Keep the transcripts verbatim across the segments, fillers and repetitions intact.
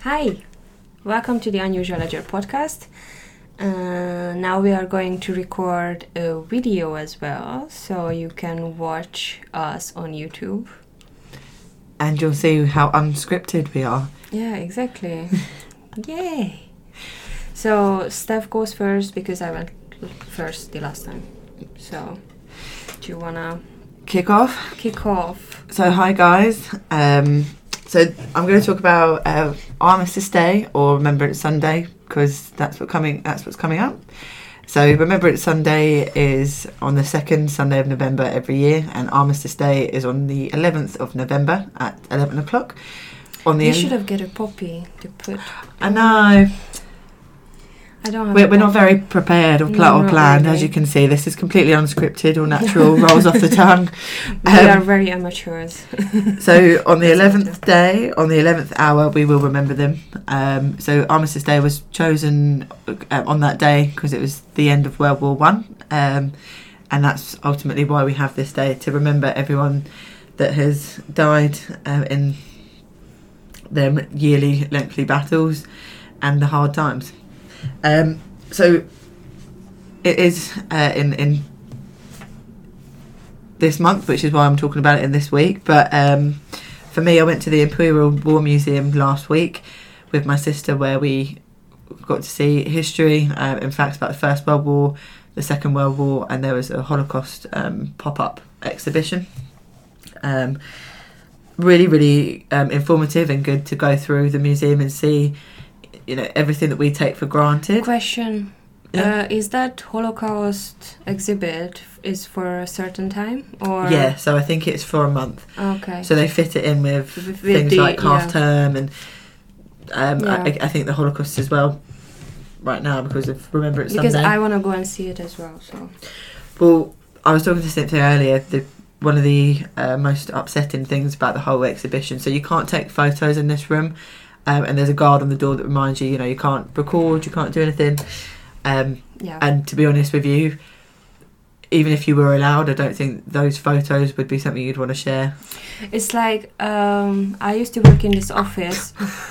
Hi, welcome to the Unusual Ledger podcast. Uh, now we are going to record a video as well, so you can watch us on YouTube. And you'll see how unscripted we are. Yeah, exactly. Yay! So Steph goes first because I went first the last time. So, do you wanna kick off? Kick off. So hi guys. Um, so I'm going to talk about uh, Armistice Day, or Remember It's Sunday, because that's what coming. That's what's coming up. So Remember It's Sunday is on the second Sunday of November every year, and Armistice Day is on the eleventh of November at eleven o'clock. On the You en- should have get a poppy to put. I know. I don't have We're, a we're not poppy. very prepared or, pl- No, or not planned, really. as you can see. This is completely unscripted or natural, rolls off the tongue. We Um, are very amateurs. So on the That's eleventh better. day, on the eleventh hour, we will remember them. Um, so Armistice Day was chosen uh, on that day because it was the end of World War One, um, and that's ultimately why we have this day, to remember everyone that has died uh, in their yearly lengthy battles and the hard times. Um, so it is uh, in in. this month, which is why I'm talking about it in this week. But um, for me, I went to the Imperial War Museum last week with my sister, where we got to see history, uh, in fact, about the First World War, the Second World War, and there was a Holocaust um, pop-up exhibition. Um, really, really um, informative and good to go through the museum and see, you know, everything that we take for granted. Question. Yeah. Uh, is that Holocaust exhibit f- is for a certain time, or Yeah, so I think it's for a month. Okay. So they fit it in with, With things the- like half yeah. term and um, Yeah. I, I think the Holocaust as well right now because of Remember It's because Sunday. I want to go and see it as well. So Well, I was talking to Cynthia earlier, the, one of the uh, most upsetting things about the whole exhibition, so you can't take photos in this room, um, and there's a guard on the door that reminds you, you know, you can't record, you can't do anything. Um, yeah. and to be honest with you, even if you were allowed, I don't think those photos would be something you'd want to share. It's like um, I used to work in this office.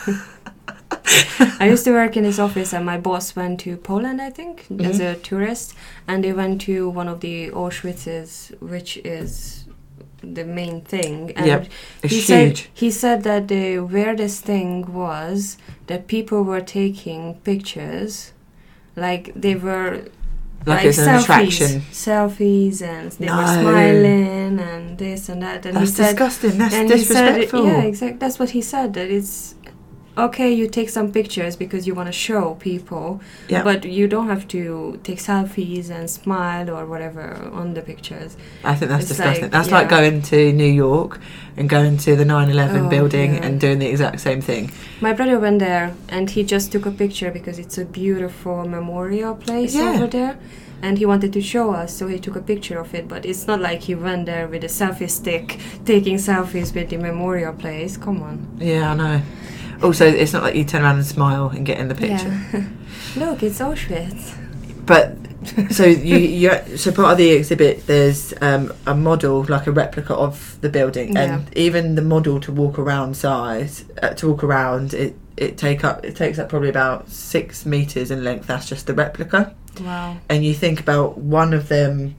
I used to work in this office, and my boss went to Poland, I think, Mhm. as a tourist, and they went to one of the Auschwitzes, which is the main thing. And Yep, It's he huge. said he said that the weirdest thing was that people were taking pictures, like they were like, it's an selfies, attraction. selfies, and they were No. smiling and this and that. And That's he said, disgusting. That's and he said, disrespectful. yeah, exactly. That's what he said. That it's okay, you take some pictures because you want to show people, Yeah. but you don't have to take selfies and smile or whatever on the pictures. I think that's It's disgusting. like- that's yeah. like going to New York and going to the nine eleven Oh, building yeah. and doing the exact same thing. My brother went there and he just took a picture because it's a beautiful memorial place Yeah. over there. And he wanted to show us, so he took a picture of it. But it's not like he went there with a selfie stick, taking selfies with the memorial place. Come on. Yeah, I know. Also, it's not like you turn around and smile and get in the picture. Yeah. Look, it's Auschwitz. But so you, you, so part of the exhibit, there's um, a model, like a replica of the building, and Yeah. even the model to walk around size, uh, to walk around, it it take up it takes up probably about six meters in length. That's just the replica. Wow. And you think about one of them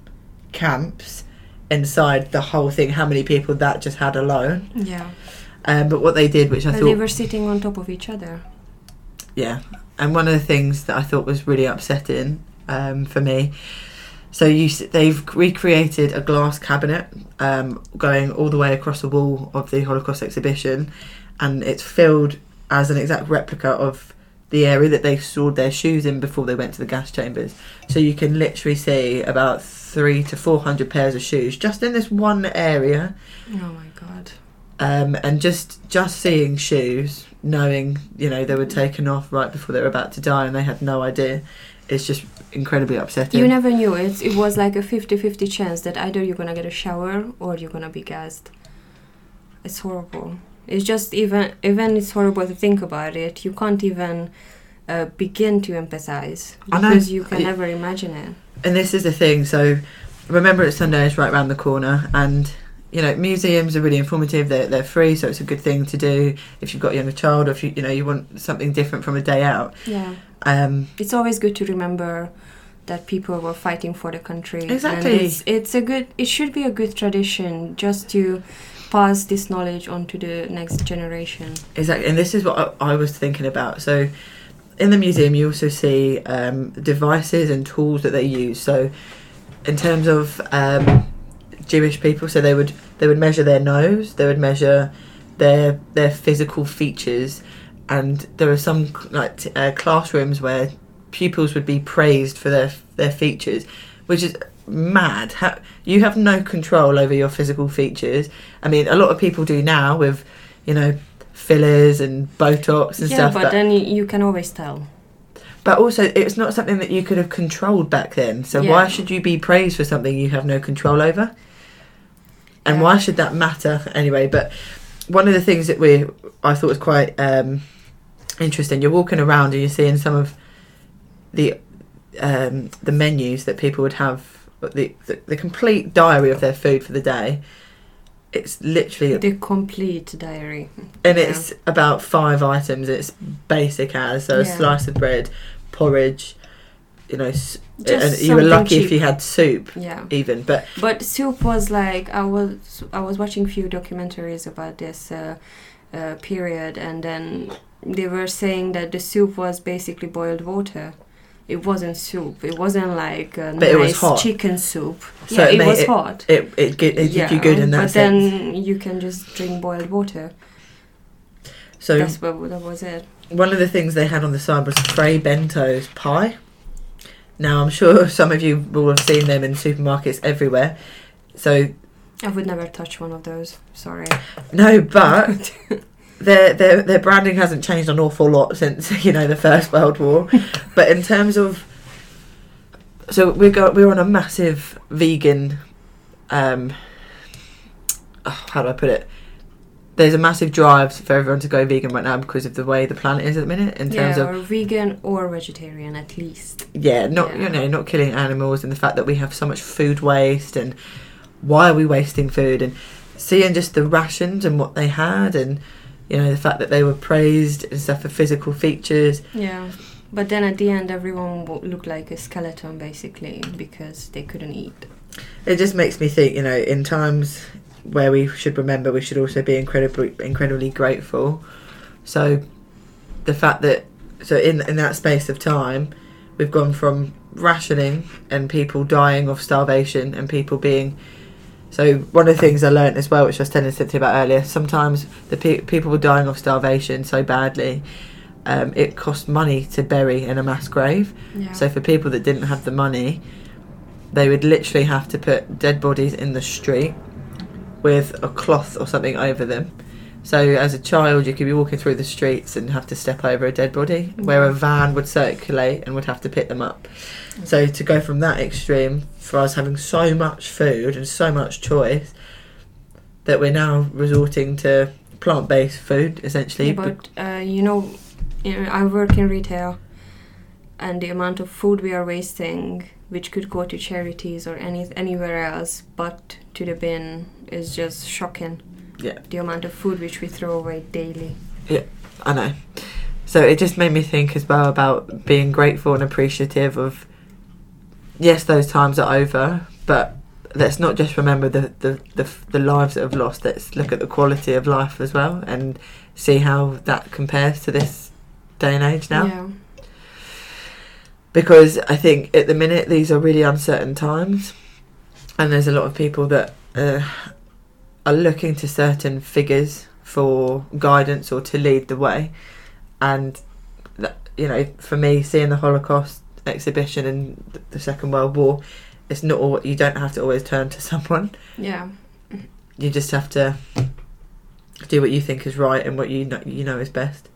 camps inside the whole thing, how many people that just had alone. Yeah. Um, but what they did, which I And thought, they were sitting on top of each other. yeah, and one of the things that I thought was really upsetting um, for me, so you s- they've recreated a glass cabinet um, going all the way across the wall of the Holocaust exhibition, and it's filled as an exact replica of the area that they stored their shoes in before they went to the gas chambers. So you can literally see about three to four hundred pairs of shoes just in this one area. Oh my god. Um, and just just seeing shoes, knowing, you know, they were taken off right before they were about to die and they had no idea, it's just incredibly upsetting. You never knew it. It was like a fifty-fifty chance that either you're gonna get a shower or you're gonna be gassed. It's horrible. It's just even even it's horrible to think about it. You can't even uh, begin to empathize I know. because you can I- never imagine it. And this is the thing, so Remember It's Sunday is right round the corner, and you know, museums are really informative. They're they're free, so it's a good thing to do if you've got a younger child, or if you you know you want something different from a day out. Yeah. Um, it's always good to remember that people were fighting for the country. Exactly. And it's, it's a good. It should be a good tradition just to pass this knowledge on to the next generation. Exactly, and this is what I, I was thinking about. So, in the museum, you also see um, devices and tools that they use. So, in terms of um, Jewish people, so they would they would measure their nose, they would measure their their physical features, and there are some like t- uh, classrooms where pupils would be praised for their their features, which is mad. How, you have no control over your physical features. I mean, a lot of people do now with, you know, fillers and Botox and yeah, stuff. but, but then you, you can always tell. But also, it's not something that you could have controlled back then. So Yeah. why should you be praised for something you have no control over? And Yeah. why should that matter anyway? But one of the things that we I thought was quite um, interesting. You're walking around and you're seeing some of the um, the menus that people would have. The, the the complete diary of their food for the day. It's literally The complete diary. and Yeah. it's about five items. It's basic as so a Yeah. slice of bread, porridge, you know, s- Just and you were something lucky if cheap. you had soup Yeah. even. But But soup was like I was I was watching a few documentaries about this uh, uh, period, and then they were saying that the soup was basically boiled water. It wasn't soup. It wasn't like a But it was nice hot. chicken soup. So yeah, it it, made was it- hot. it it, it, it yeah, did you good in that but sense. then you can just drink boiled water. So That's what that was it. one of the things they had on the side was Frey Bento's pie. Now I'm sure some of you will have seen them in supermarkets everywhere. So I would never touch one of those. Sorry. no, but their their their branding hasn't changed an awful lot since, you know, the First World War. But in terms of, so we got we're on a massive vegan. Um, oh, how do I put it? There's a massive drive for everyone to go vegan right now because of the way the planet is at the minute. In terms yeah, of or vegan or vegetarian at least. yeah, not Yeah. you know not killing animals, and the fact that we have so much food waste, and why are we wasting food, and seeing just the rations and what they had, and you know the fact that they were praised and stuff for physical features. Yeah. But then at the end, everyone wo- looked like a skeleton, basically, because they couldn't eat. It just makes me think, you know, in times where we should remember, we should also be incredibly, incredibly grateful. So, the fact that, so in in that space of time, we've gone from rationing and people dying of starvation and people being. So one of the things I learnt as well, which I was telling Cynthia about earlier, sometimes the pe- people were dying of starvation so badly. Um, it cost money to bury in a mass grave. Yeah. So for people that didn't have the money, they would literally have to put dead bodies in the street with a cloth or something over them. So as a child, you could be walking through the streets and have to step over a dead body, where a van would circulate and would have to pick them up. So to go from that extreme, for us having so much food and so much choice, that we're now resorting to plant-based food, essentially. Yeah, but uh, you know, you know, I work in retail, and the amount of food we are wasting, which could go to charities or any anywhere else, but to the bin, is just shocking. Yeah. The amount of food which we throw away daily. I know. So it just made me think as well about being grateful and appreciative of, yes, those times are over, but let's not just remember the, the, the, the lives that have lost. Let's look at the quality of life as well and see how that compares to this day and age now. Yeah. Because I think at the minute these are really uncertain times, and there's a lot of people that uh, are looking to certain figures for guidance or to lead the way. And that, you know, for me, seeing the Holocaust exhibition and th- the Second World War, it's not all, you don't have to always turn to someone. Yeah. You just have to do what you think is right and what you know, you know is best.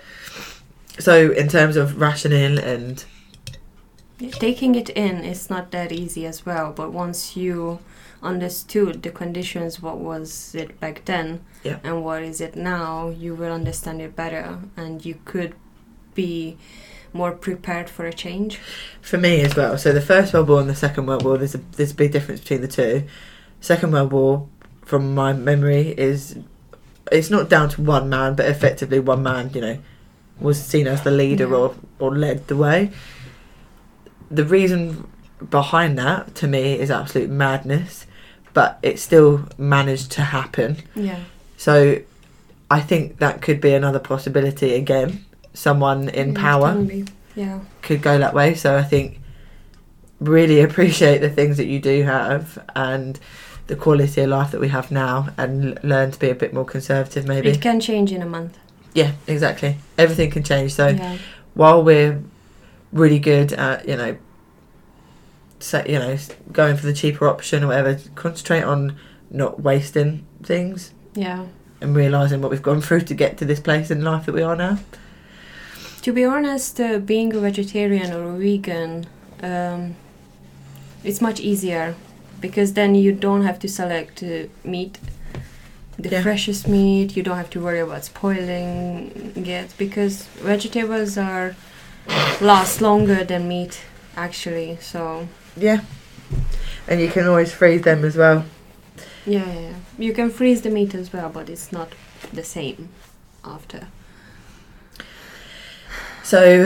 So in terms of rationing and Taking it in is not that easy as well, but once you understood the conditions, what was it back then, yeah. and what is it now, you will understand it better, and you could be more prepared for a change. For me as well. So the First World War and the Second World War, there's a there's a big difference between the two. Second World War, from my memory, is it's not down to one man, but effectively one man, you know, was seen as the leader Yeah. or, or led the way. The reason behind that, to me, is absolute madness, but it still managed to happen. Yeah. So I think that could be another possibility again. Someone in Mm, power can be. Yeah. could go that way. So I think really appreciate the things that you do have and the quality of life that we have now, and l- learn to be a bit more conservative maybe. It can change in a month. Yeah, exactly. Everything can change. So Yeah. while we're really good at, you know, so, you know, going for the cheaper option or whatever, concentrate on not wasting things Yeah. and realising what we've gone through to get to this place in life that we are now. To be honest, uh, being a vegetarian or a vegan, um, it's much easier because then you don't have to select uh, meat, the Yeah. freshest meat. You don't have to worry about spoiling it because vegetables are last longer than meat, actually. So Yeah. And you can always freeze them as well. yeah, yeah, yeah. You can freeze the meat as well, but it's not the same after. So,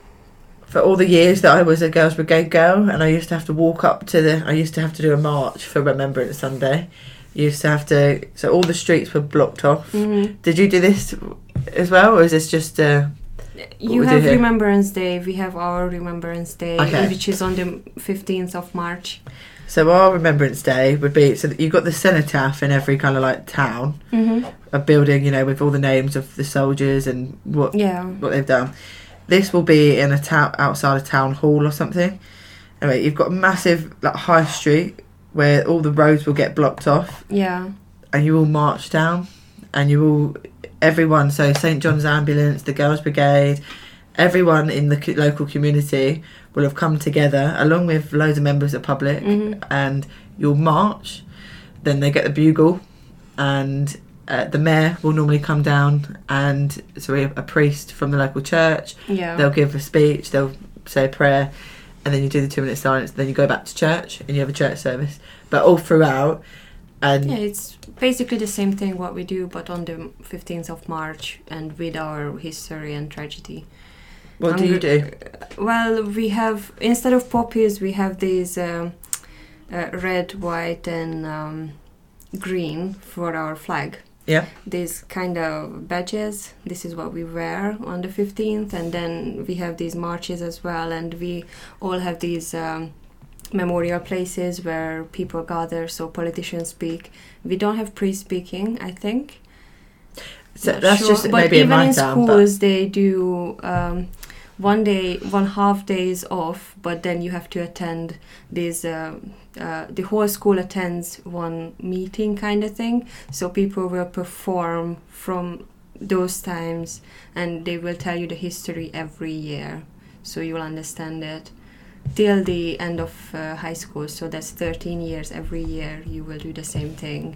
for all the years that I was a Girls Brigade girl, and I used to have to walk up to the, I used to have to do a march for Remembrance Sunday. You used to have to, so all the streets were blocked off. Mm-hmm. Did you do this as well, or is this just uh, You we do have here? Remembrance Day. We have our Remembrance Day, Okay. which is on the fifteenth of March. so our Remembrance Day would be, so that you've got the cenotaph in every kind of like town, Mm-hmm. a building, you know, with all the names of the soldiers and what Yeah. what they've done. This will be in a town outside a town hall or something. Anyway, you've got a massive like high street where all the roads will get blocked off, Yeah. and you all march down, and you all, everyone, so Saint John's Ambulance, the Girls Brigade, everyone in the co- local community will have come together along with loads of members of the public, Mhm. and you'll march. Then they get the bugle, and uh, the mayor will normally come down, and so we have a priest from the local church. Yeah. They'll give a speech, they'll say a prayer, and then you do the two minute silence. Then you go back to church and you have a church service. But all throughout, and Yeah, it's basically the same thing what we do, but on the fifteenth of March and with our history and tragedy. what do you do? Well, we have, instead of poppies, we have these um, uh, red, white, and um, green for our flag. Yeah. These kind of badges. This is what we wear on the fifteenth, and then we have these marches as well, and we all have these um, memorial places where people gather, so politicians speak. We don't have pre-speaking, I think. So Not that's sure. just but maybe in even my in town. But schools they do um, one day, one half days off, but then you have to attend this. Uh, uh, the whole school attends one meeting kind of thing. So people will perform from those times, and they will tell you the history every year, so you'll understand it till the end of uh, high school. So that's thirteen years. Every year you will do the same thing.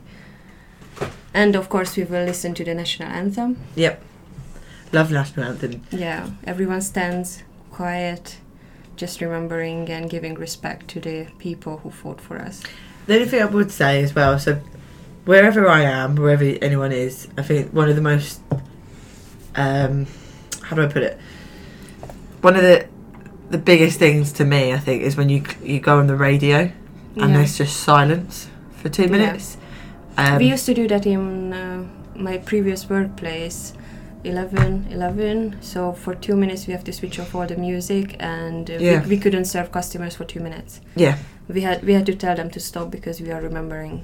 And of course we will listen to the national anthem. love national anthem. Yeah, everyone stands quiet, just remembering and giving respect to the people who fought for us. The only thing I would say as well, so wherever I am, wherever anyone is, I think one of the most, um, how do I put it? One of the the biggest things to me, I think, is when you you go on the radio and Yeah. there's just silence for two Yeah. minutes. Um, We used to do that in uh, my previous workplace, eleven eleven. So for two minutes we have to switch off all the music, and uh, Yeah. we, we couldn't serve customers for two minutes. yeah. We had we had to tell them to stop because we are remembering.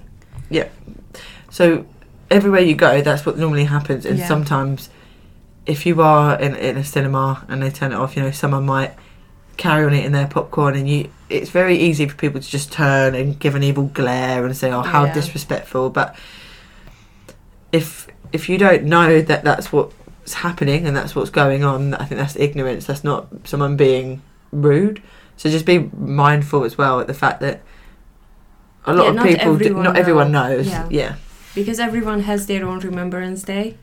So everywhere you go, that's what normally happens. And Yeah. sometimes, if you are in in a cinema and they turn it off, you know, someone might carry on eating their popcorn, and you, it's very easy for people to just turn and give an evil glare and say, "Oh, how Yeah. disrespectful!" But if if you don't know that that's what's happening and that's what's going on, I think that's ignorance. That's not someone being rude. So just be mindful as well at the fact that a lot Yeah, of not people, do, everyone not everyone know. knows. Yeah. yeah. Because everyone has their own Remembrance Day.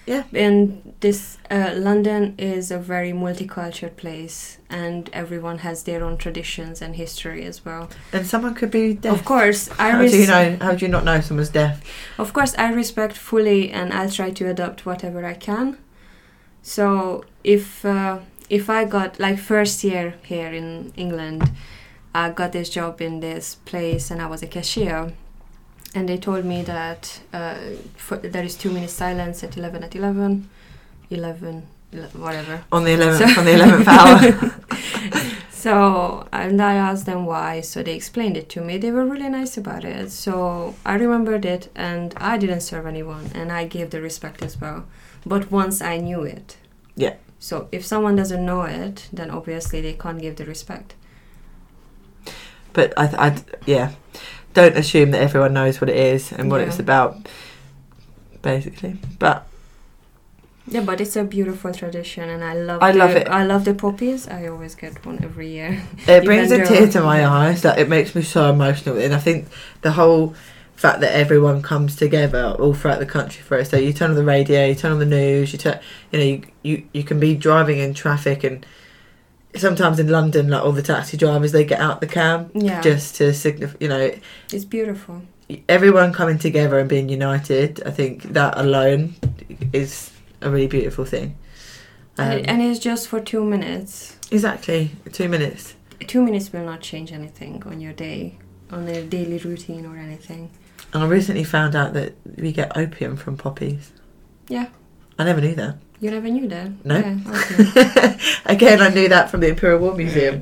Yeah. And this uh, London is a very multicultural place, and everyone has their own traditions and history as well. And someone could be deaf. Of course, I How res- do you know? How do you not know someone's deaf? Of course, I respect fully, and I'll try to adopt whatever I can. So if uh, if I got like first year here in England, I got this job in this place, and I was a cashier. And they told me that uh, for, there is two minutes silence at eleven at eleven, eleven, whatever. On the eleventh, So on the eleventh hour. So, and I asked them why, so they explained it to me. They were really nice about it. So I remembered it, and I didn't serve anyone, and I gave the respect as well. But once I knew it. Yeah. So if someone doesn't know it, then obviously they can't give the respect. But I, th- I th- yeah, don't assume that everyone knows what it is and what Yeah. it's about, basically. But Yeah, but it's a beautiful tradition, and I love. I the, love it. I love the poppies. I always get one every year. it brings a Even tear though- to my eyes. Like, it makes me so emotional, and I think the whole fact that everyone comes together all throughout the country for it. So you turn on the radio, you turn on the news, you turn, you know, you you, you can be driving in traffic, and sometimes in London, like all the taxi drivers, they get out the cab Yeah, just to signify, you know, it's beautiful. everyone coming together and being united. I think that alone is a really beautiful thing. Um, and, it, and it's just for two minutes. exactly, two minutes. Two minutes will not change anything on your day, on a daily routine or anything. And I recently found out that we get opium from poppies. Yeah. I never knew that. You never knew that? No. Yeah, okay. Again, I knew that from the Imperial War Museum.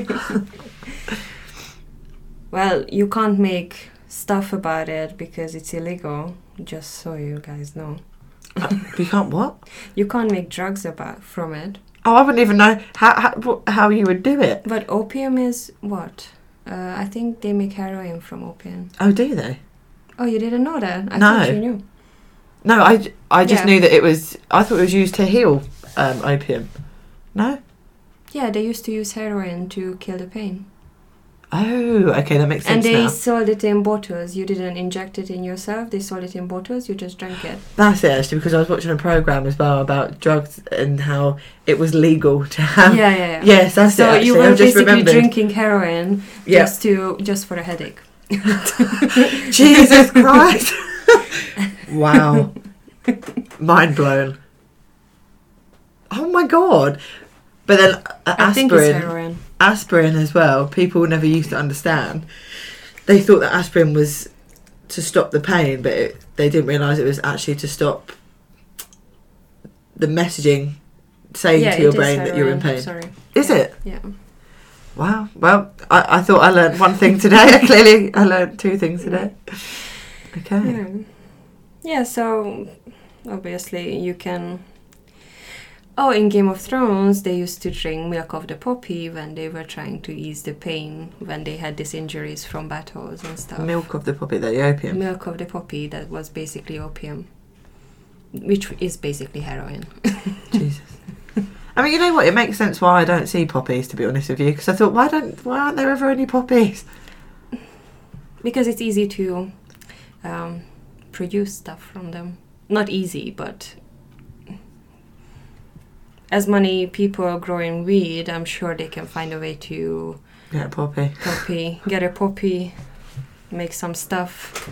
Well, you can't make stuff about it because it's illegal, just so you guys know. You can't what? You can't make drugs about from it. Oh, I wouldn't even know how how, wh- how you would do it. But opium is what? Uh, I think they make heroin from opium. Oh, do they? Oh, you didn't know that? I No. thought you knew. No, I, j- I just Yeah. knew that it was... I thought it was used to heal um, opium. No? Yeah, they used to use heroin to kill the pain. Oh, okay, that makes And sense they now. sold it in bottles. You didn't inject it in yourself. They sold it in bottles. You just drank it. That's it, actually, because I was watching a programme as well about drugs and how it was legal to have... yeah, yeah, yeah. Yes, that's so it, actually. you were I've just basically remembered. drinking heroin Yeah. just to just for a headache. Jesus Christ! Wow. Mind blown. Oh my god. But then uh, I think it's aspirin, heroin. aspirin as well, people never used to understand. They thought that aspirin was to stop the pain, but it, they didn't realise it was actually to stop the messaging saying Yeah, to your it is brain that you're in heroin. pain. Sorry. Is it? Yeah. Wow. Well, I, I thought I learned one thing today. Clearly, I learned two things today. Okay. Yeah. Yeah, so obviously you can... Oh, in Game of Thrones, they used to drink milk of the poppy when they were trying to ease the pain when they had these injuries from battles and stuff. Milk of the poppy, the opium. Milk of the poppy, that was basically opium, which is basically heroin. Jesus. I mean, you know what? It makes sense why I don't see poppies, to be honest with you, because I thought, why don't, why aren't there ever any poppies? Because it's easy to um, produce stuff from them. Not easy, but as many people are growing weed, I'm sure they can find a way to Yeah, poppy. poppy, get a poppy, make some stuff.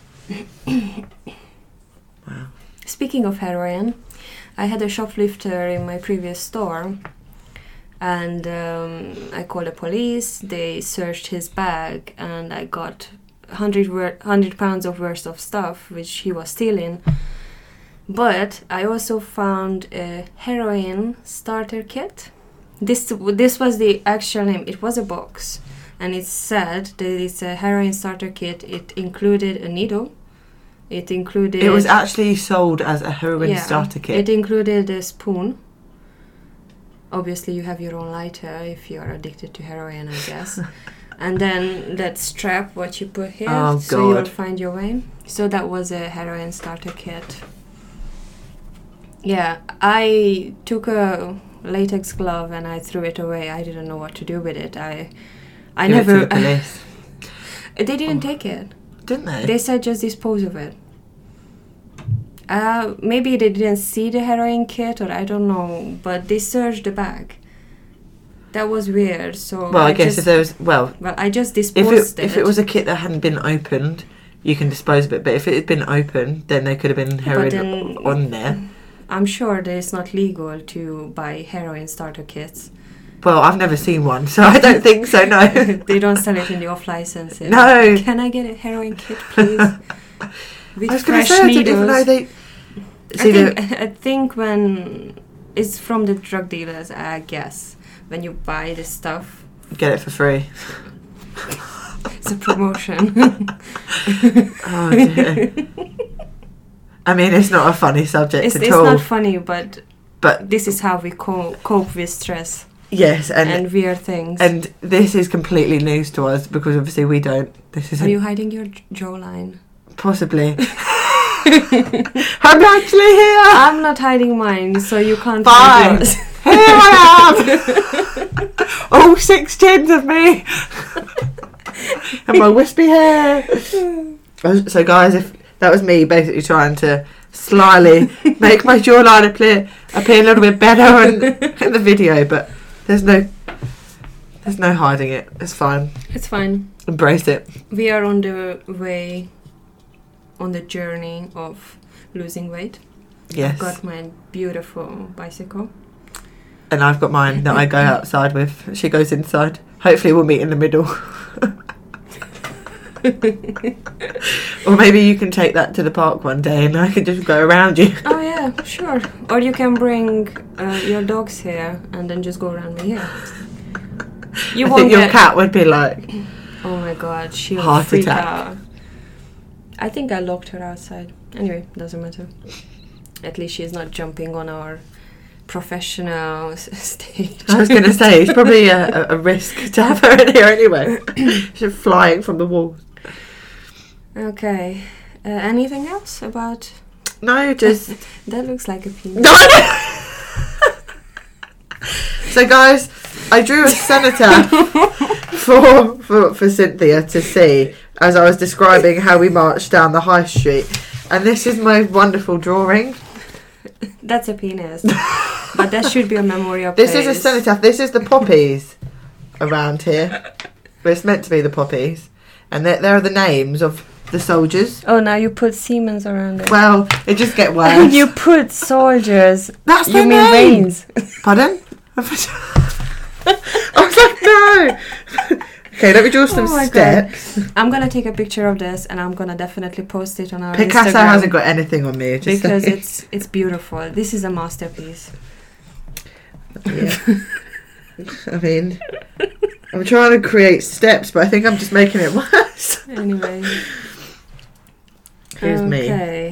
Wow. Speaking of heroin, I had a shoplifter in my previous store, and um, I called the police. They searched his bag, and I got one hundred, wor- one hundred pounds of worth of stuff which he was stealing. But I also found a heroin starter kit. This this was the actual name. It was a box, and it said that it's a heroin starter kit. It included a needle. It included... It was actually sold as a heroin Yeah, starter kit. It included a spoon. Obviously, you have your own lighter if you are addicted to heroin, I guess. And then that strap, what you put here, Oh, so God. you'll find your way. So that was a heroin starter kit. Yeah, I took a latex glove and I threw it away. I didn't know what to do with it. I, I Give it never. to the police. They didn't Oh. take it. Didn't they? They said just dispose of it. Uh, maybe they didn't see the heroin kit, or I don't know, but they searched the bag. That was weird. So Well, I, I guess just, if there was well, well, I just if disposed it, if it was a kit that hadn't been opened, you can dispose of it. But if it had been opened, then there could have been heroin then, on there. I'm sure that it's not legal to buy heroin starter kits. Well, I've never seen one, so I don't think so. No, They don't sell it in the off license. No. Can I get a heroin kit, please? With I was going to fresh say I needles. didn't even know they. I See, think, the, I think when it's from the drug dealers, I guess, when you buy this stuff, get it for free. it's a promotion. Oh dear. I mean, it's not a funny subject it's at it's all. not funny, but But this is how we co- cope with stress yes, and, and weird things. and this is completely news to us because obviously we don't. This is Are you hiding your j- jawline? possibly. I'm actually here. I'm not hiding mine, so you can't Fine. hide yours. Here I am. All six tins of me. And my wispy hair. So guys, if that was me basically trying to slyly make my jawline appear appear a little bit better in, in the video, but there's no there's no hiding it. It's fine. It's fine. Embrace it. We are on the way, on the journey of losing weight. Yes. I've got my beautiful bicycle. And I've got mine that I go outside with. She goes inside. Hopefully we'll meet in the middle. Or maybe you can take that to the park one day and I can just go around you. Oh yeah, sure. Or you can bring uh, your dogs here and then just go around me here. You I won't think your get- cat would be like, Oh my god, she'll Heart freak attack. out. I think I locked her outside. Anyway, doesn't matter. At least she's not jumping on our professional s- stage. I was going to say, it's probably a, a, a risk to have her in here anyway. She's flying from the walls. Okay. Uh, anything else about... No, just... That looks like a penis. No, I know. So guys, I drew a cenotaph for, for, for Cynthia to see as I was describing how we marched down the high street. And this is my wonderful drawing. That's a penis. But that should be a memorial This place. is a cenotaph. This is the poppies around here. But it's meant to be the poppies. And there, there are the names of the soldiers. Oh, now you put Siemens around it. Well, it just get worse. You put soldiers. That's You their mean name. veins. Pardon? I was like, no. Okay, let me draw some Oh my steps. I'm gonna take a picture of this and I'm gonna definitely post it on our Picasso Instagram. hasn't got anything on me. Just Because saying. it's it's beautiful. This is a masterpiece. Yeah. I mean, I'm trying to create steps, but I think I'm just making it worse. Anyway. Here's me. Okay.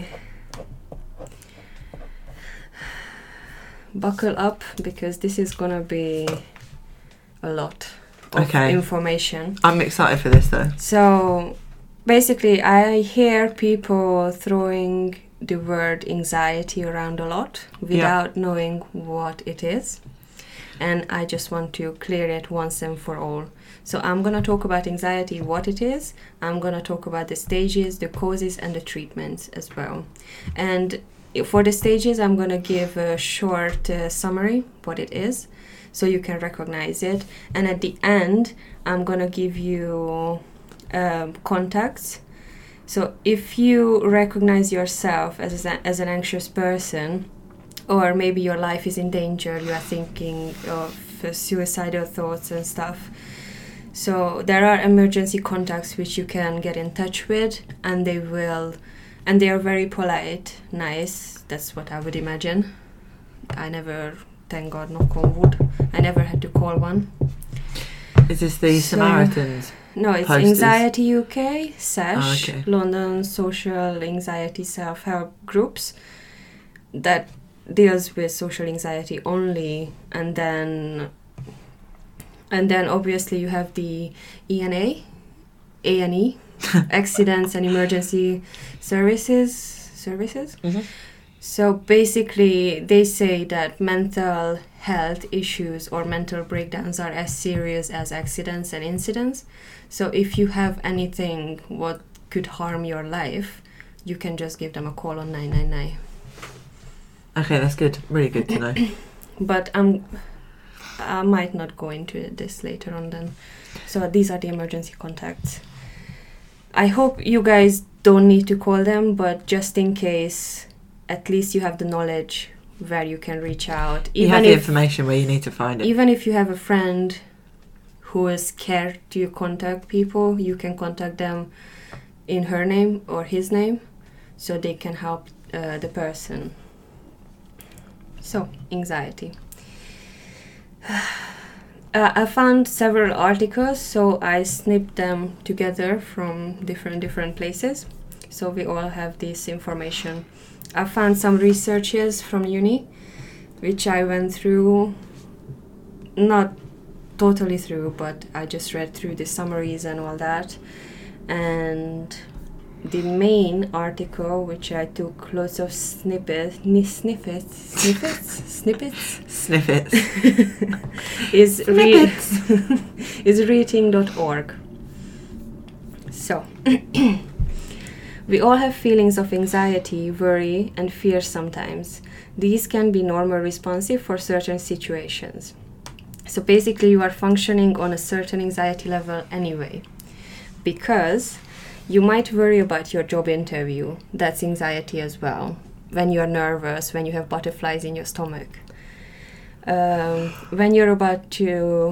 Buckle up because this is gonna be a lot of Okay. information. I'm excited for this though. So basically I hear people throwing the word anxiety around a lot without knowing what it is. And I just want to clear it once and for all. So I'm going to talk about anxiety, what it is. I'm going to talk about the stages, the causes, and the treatments as well. And for the stages, I'm going to give a short uh, summary, what it is, so you can recognize it. And at the end, I'm going to give you um, contacts. So if you recognize yourself as, a, as an anxious person, or maybe your life is in danger, you are thinking of uh, suicidal thoughts and stuff. So there are emergency contacts which you can get in touch with, and they will, and they are very polite, nice. That's what I would imagine. I never, thank God, knock on wood, I never had to call one. Is this the So- Samaritans? No, it's Posters. Anxiety U K, SASH, Ah, okay. London Social Anxiety Self-Help Groups, that deals with social anxiety only. And then and then obviously you have the E N A, A and E, Accidents and Emergency Services Services. Mm-hmm. So basically they say that mental health issues or mental breakdowns are as serious as accidents and incidents. So if you have anything what could harm your life, you can just give them a call on nine nine nine. Okay, that's good. Really good to know. But I'm, I might not go into this later on then. So these are the emergency contacts. I hope you guys don't need to call them, but just in case, at least you have the knowledge where you can reach out. You Even have the if, information where you need to find it. Even if you have a friend who is scared to contact people, you can contact them in her name or his name, so they can help uh, the person. So, anxiety. Uh, I found several articles, so I snipped them together from different different places. So we all have this information. I found some researches from uni, which I went through, not totally through, but I just read through the summaries and all that. And the main article, which I took lots of snippets, snippets, snippets, snippets, Snippets. is re- Snippets. is reading dot org. So, we all have feelings of anxiety, worry, and fear sometimes. These can be normal responsive for certain situations. So basically, you are functioning on a certain anxiety level anyway, because you might worry about your job interview. That's anxiety as well. When you're nervous, when you have butterflies in your stomach. Um, when you're about to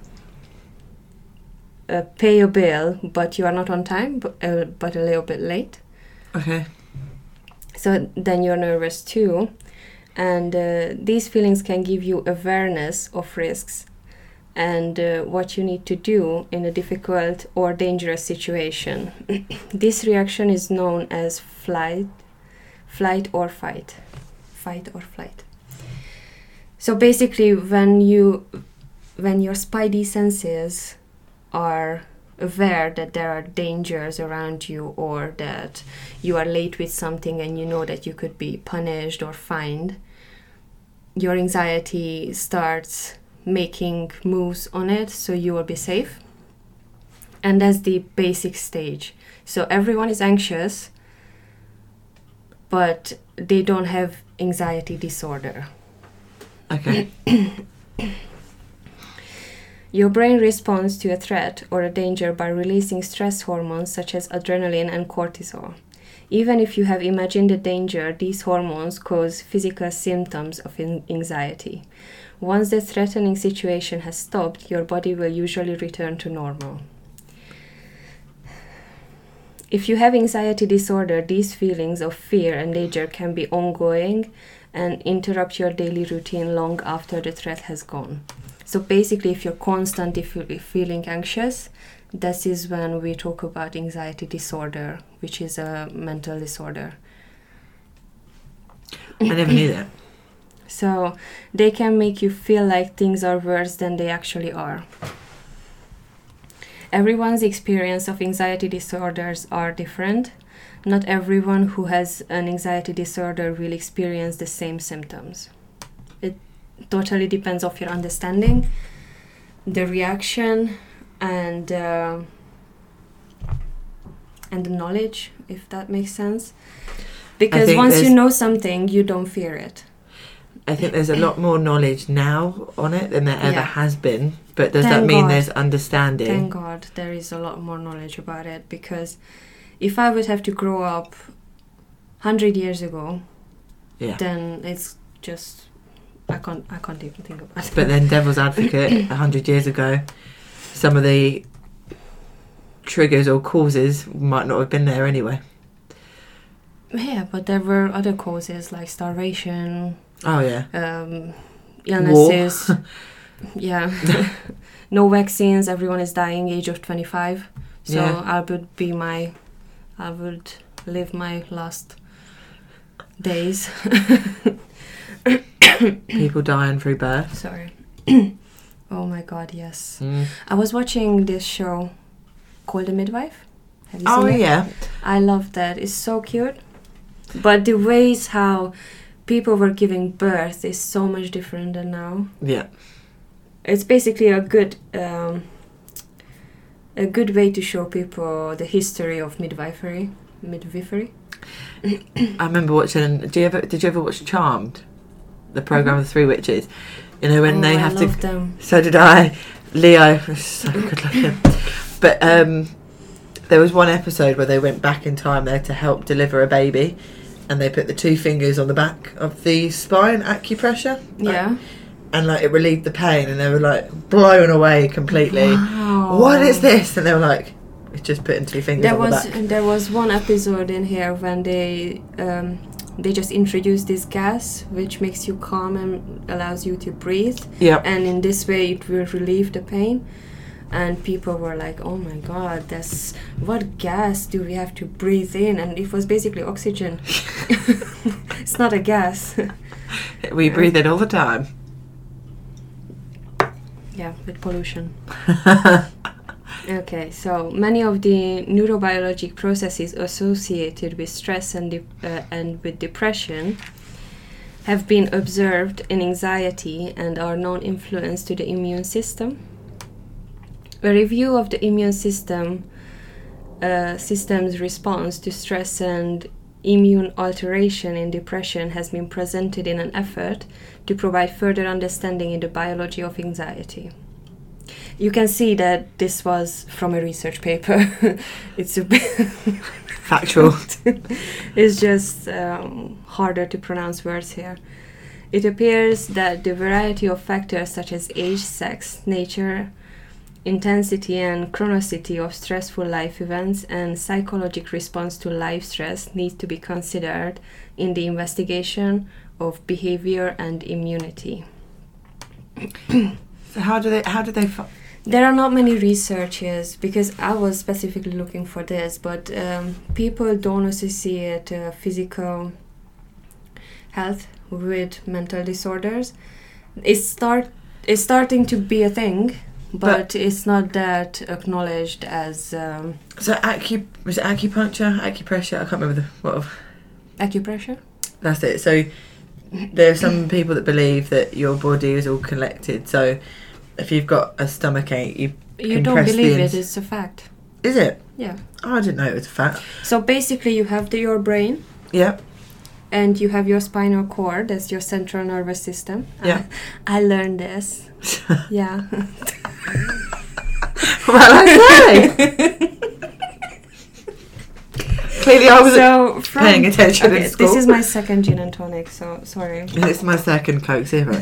uh, pay a bill, but you are not on time, but, uh, but a little bit late. Okay. So then you're nervous too. And uh, these feelings can give you awareness of risks and uh, what you need to do in a difficult or dangerous situation. This reaction is known as flight, flight or fight, fight or flight. So basically, when you, when your spidey senses are aware that there are dangers around you, or that you are late with something and you know that you could be punished or fined, your anxiety starts making moves on it so you will be safe. And that's the basic stage. So everyone is anxious, but they don't have anxiety disorder. Okay. Your brain responds to a threat or a danger by releasing stress hormones such as adrenaline and cortisol. Even if you have imagined the danger, these hormones cause physical symptoms of anxiety. Once the threatening situation has stopped, your body will usually return to normal. If you have anxiety disorder, these feelings of fear and danger can be ongoing and interrupt your daily routine long after the threat has gone. So basically, if you're constantly feeling anxious, this is when we talk about anxiety disorder, which is a mental disorder. I never knew that. So they can make you feel like things are worse than they actually are. Everyone's experience of anxiety disorders are different. Not everyone who has an anxiety disorder will experience the same symptoms. It totally depends on your understanding, the reaction, and uh, and the knowledge, if that makes sense. Because once you know something, you don't fear it. I think there's a lot more knowledge now on it than there ever Yeah. has been. But does Thank that mean God. there's understanding? Thank God there is a lot more knowledge about it, because if I would have to grow up one hundred years ago, Yeah. then it's just, I can't, I can't even think about it. But then devil's advocate, a hundred years ago, some of the triggers or causes might not have been there anyway. Yeah, but there were other causes like starvation, Oh yeah. um, illnesses. Yeah. No vaccines, everyone is dying age of twenty-five. So Yeah. I would be my, I would live my last days. People dying through birth. Sorry. Oh my God, yes. Mm. I was watching this show called The Midwife. Have you Oh seen it? yeah. I love that. It's so cute. But the ways how people were giving birth is so much different than now. Yeah. It's basically a good um, a good way to show people the history of midwifery. Midwifery. I remember watching. Do you ever? Did you ever watch Charmed? the program Mhm. of the Three Witches. You know when Oh, they I have love to. them. So did I. Leo was so good looking. But um, there was one episode where they went back in time there to help deliver a baby, and they put the two fingers on the back of the spine, acupressure. like, Yeah. and like it relieved the pain, and they were like blown away completely. Wow. What is this? And they were like, it's just putting two fingers There on was the back. there was one episode in here when they um, they just introduced this gas which makes you calm and allows you to breathe, Yep. and in this way it will relieve the pain. And people were like, "Oh my God, that's what gas do we have to breathe in?" And it was basically oxygen. It's not a gas. We breathe it all the time. Yeah, with pollution. Okay, so many of the neurobiologic processes associated with stress and de- uh, and with depression have been observed in anxiety and are known influence to the immune system. A review of the immune system uh, system's response to stress and immune alteration in depression has been presented in an effort to provide further understanding in the biology of anxiety. You can see that this was from a research paper. It's a Factual. It's just um, harder to pronounce words here. It appears that the variety of factors such as age, sex, nature, intensity and chronicity of stressful life events and psychological response to life stress need to be considered in the investigation of behavior and immunity. So how do they? How do they? F- There are not many researches because I was specifically looking for this, but um, people don't associate uh, physical health with mental disorders. It's start it's starting to be a thing, but, But- it's not that acknowledged as um, so acu was it acupuncture, acupressure? I can't remember the what. Of, acupressure. that's it. So there are some people that believe that your body is all connected. So if you've got a stomach ache, you You can don't press the believe ins- it, it's a fact. Is it? Yeah. Oh, I didn't know it was a fact. So basically you have the, your brain Yep. and you have your spinal cord, that's your central nervous system. Yeah. I, I learned this. Yeah. Well, I say. Clearly, I wasn't so from, paying attention okay, in school. This is my second gin and tonic, so sorry. It's my second Coke Zero.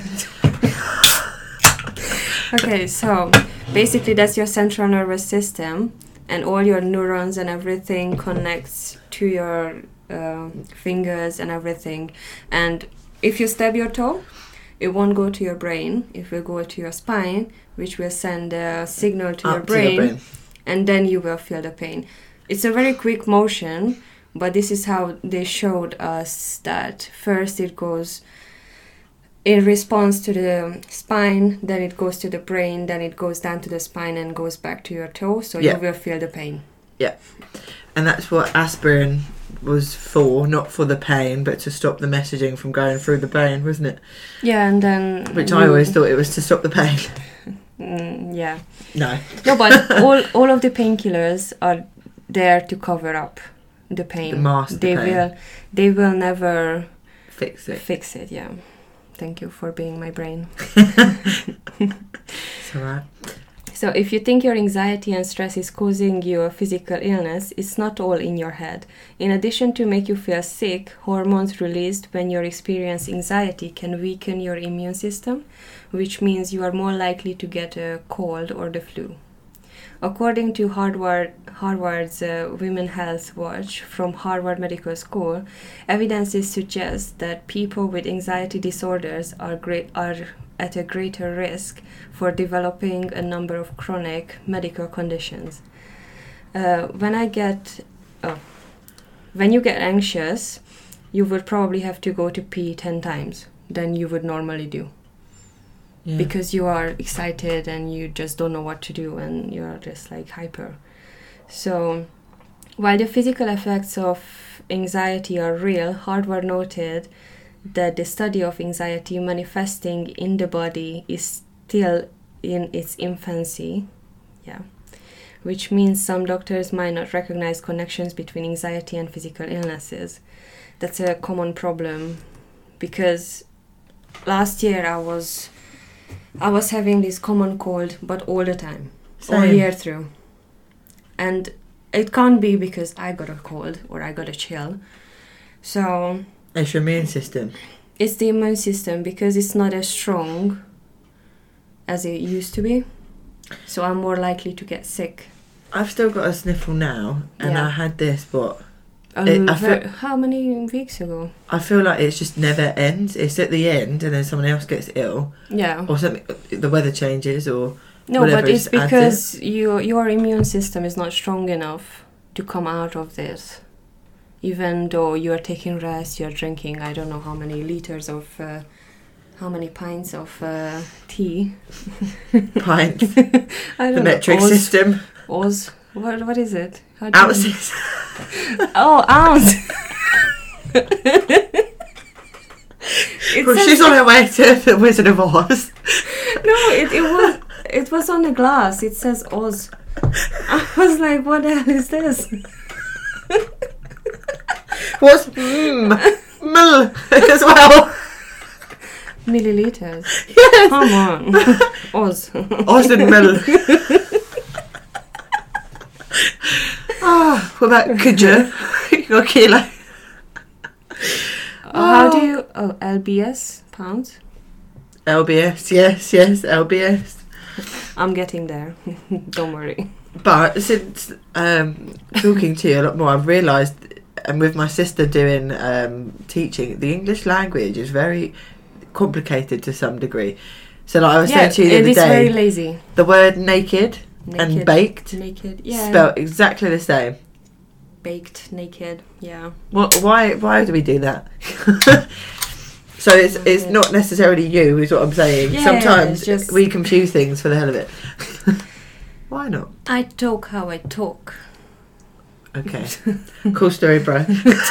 Okay, so basically that's your central nervous system, and all your neurons and everything connects to your uh, fingers and everything. And if you stub your toe, it won't go to your brain. It will go to your spine, which will send a signal to, your Up brain, to your brain. and then you will feel the pain. It's a very quick motion, but this is how they showed us that first it goes in response to the spine, then it goes to the brain, then it goes down to the spine and goes back to your toe, so Yeah. you will feel the pain. And that's what aspirin was for, not for the pain, but to stop the messaging from going through the brain, wasn't it? Yeah, and then... Which I you- always thought it was to stop the pain. Mm, yeah. No. No, but all, all of the painkillers are there to cover up the pain. To mask the they pain. will They will never Fix it. fix it, yeah. Thank you for being my brain. It's alright. So if you think your anxiety and stress is causing you a physical illness, it's not all in your head. In addition to make you feel sick, hormones released when you experience anxiety can weaken your immune system, which means you are more likely to get a cold or the flu. According to Harvard, Harvard's uh, Women Health Watch from Harvard Medical School, evidences suggest that people with anxiety disorders are great are at a greater risk for developing a number of chronic medical conditions. Uh, when I get, oh, when you get anxious, you would probably have to go to pee ten times than you would normally do. Yeah. Because you are excited and you just don't know what to do and you're just like hyper. So while the physical effects of anxiety are real, Harvard noted that the study of anxiety manifesting in the body is still in its infancy, yeah, which means some doctors might not recognize connections between anxiety and physical illnesses. That's a common problem because last year I was I was having this common cold, but all the time, Same. all year through. And it can't be because I got a cold or I got a chill. So It's your immune system. it's the immune system because it's not as strong as it used to be. So I'm more likely to get sick. I've still got a sniffle now, and Yeah. I had this, but Um, It- I ver- feel- how many weeks ago? I feel like it's just never ends. It's at the end, and then someone else gets ill, Yeah. or something. The weather changes, or No, whatever but it's is added. because your your immune system is not strong enough to come out of this. Even though you are taking rest, you are drinking, I don't know how many liters of, uh, how many pints of uh, tea. pints, I don't the know. metric Oz, system, Oz. What what is it? How do you- ounces. Oh, ounce. It Well, says- she's on her way to the Wizard of Oz. No, it, it was it was on the glass. It says Oz. I was like, what the hell is this? What's mm, mil as well? Milliliters. Yes, Come on. Oz. Oz and mil. Ah, what about kudja? Or kilo? How do you... Oh, L B S? Pounds? L B S, yes, yes, L B S. I'm getting there. Don't worry. But since um, talking to you a lot more, I've realised, and with my sister doing um, teaching, the English language is very complicated to some degree. So like I was Yeah, saying to you the it other is day, very lazy. the word naked, Naked. and baked Naked. Yeah. spelled exactly the same. Baked. Naked. Yeah. What? Why? Why do we do that? So it's it's not necessarily you, is what I'm saying. Yeah, Sometimes it's just- we confuse things for the hell of it. Why not? I talk how I talk. Okay. Cool story, bro.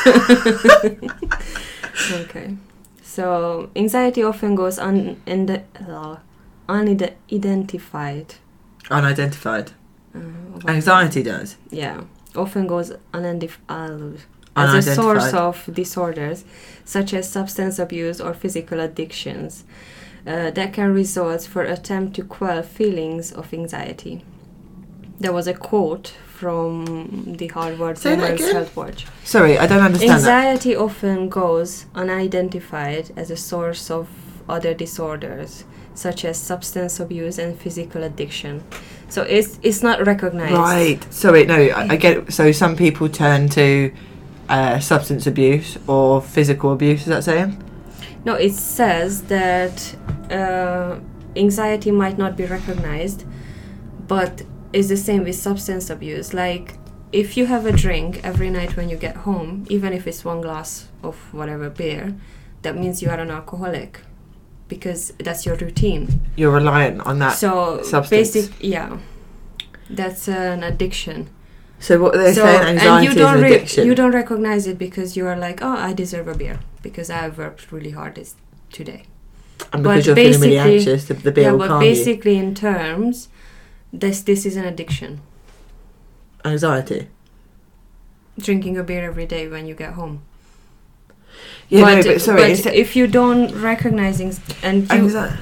Okay. So anxiety often goes un in the uh, unidentified. Unidentified. Uh, Anxiety does. Yeah, often goes unidentified as a Unidentified. source of disorders such as substance abuse or physical addictions uh, that can result for attempt to quell feelings of anxiety. There was a quote from the Harvard Say that Women's again? Health Watch. Sorry, I don't understand that. Anxiety often goes unidentified as a source of other disorders, such as substance abuse and physical addiction. So it's it's not recognized. Right. Sorry, no, I, I get it. So some people turn to uh, substance abuse or physical abuse, is that saying? No, it says that uh, anxiety might not be recognized, but it's the same with substance abuse. Like, if you have a drink every night when you get home, even if it's one glass of whatever beer, that means you are an alcoholic, because that's your routine. You're reliant on that. So substance. basic, yeah, that's an addiction. So what they're So saying, anxiety and you don't is an re- addiction. you don't recognize it because you are like, oh, I deserve a beer because I worked really hard this today. and because but you're feeling really basically- anxious, the, the beer yeah, will but calm you. basically in terms, this this is an addiction. Anxiety. Drinking a beer every day when you get home. Yeah, but, no, but sorry. but it's if you don't recognizing and you, anxi-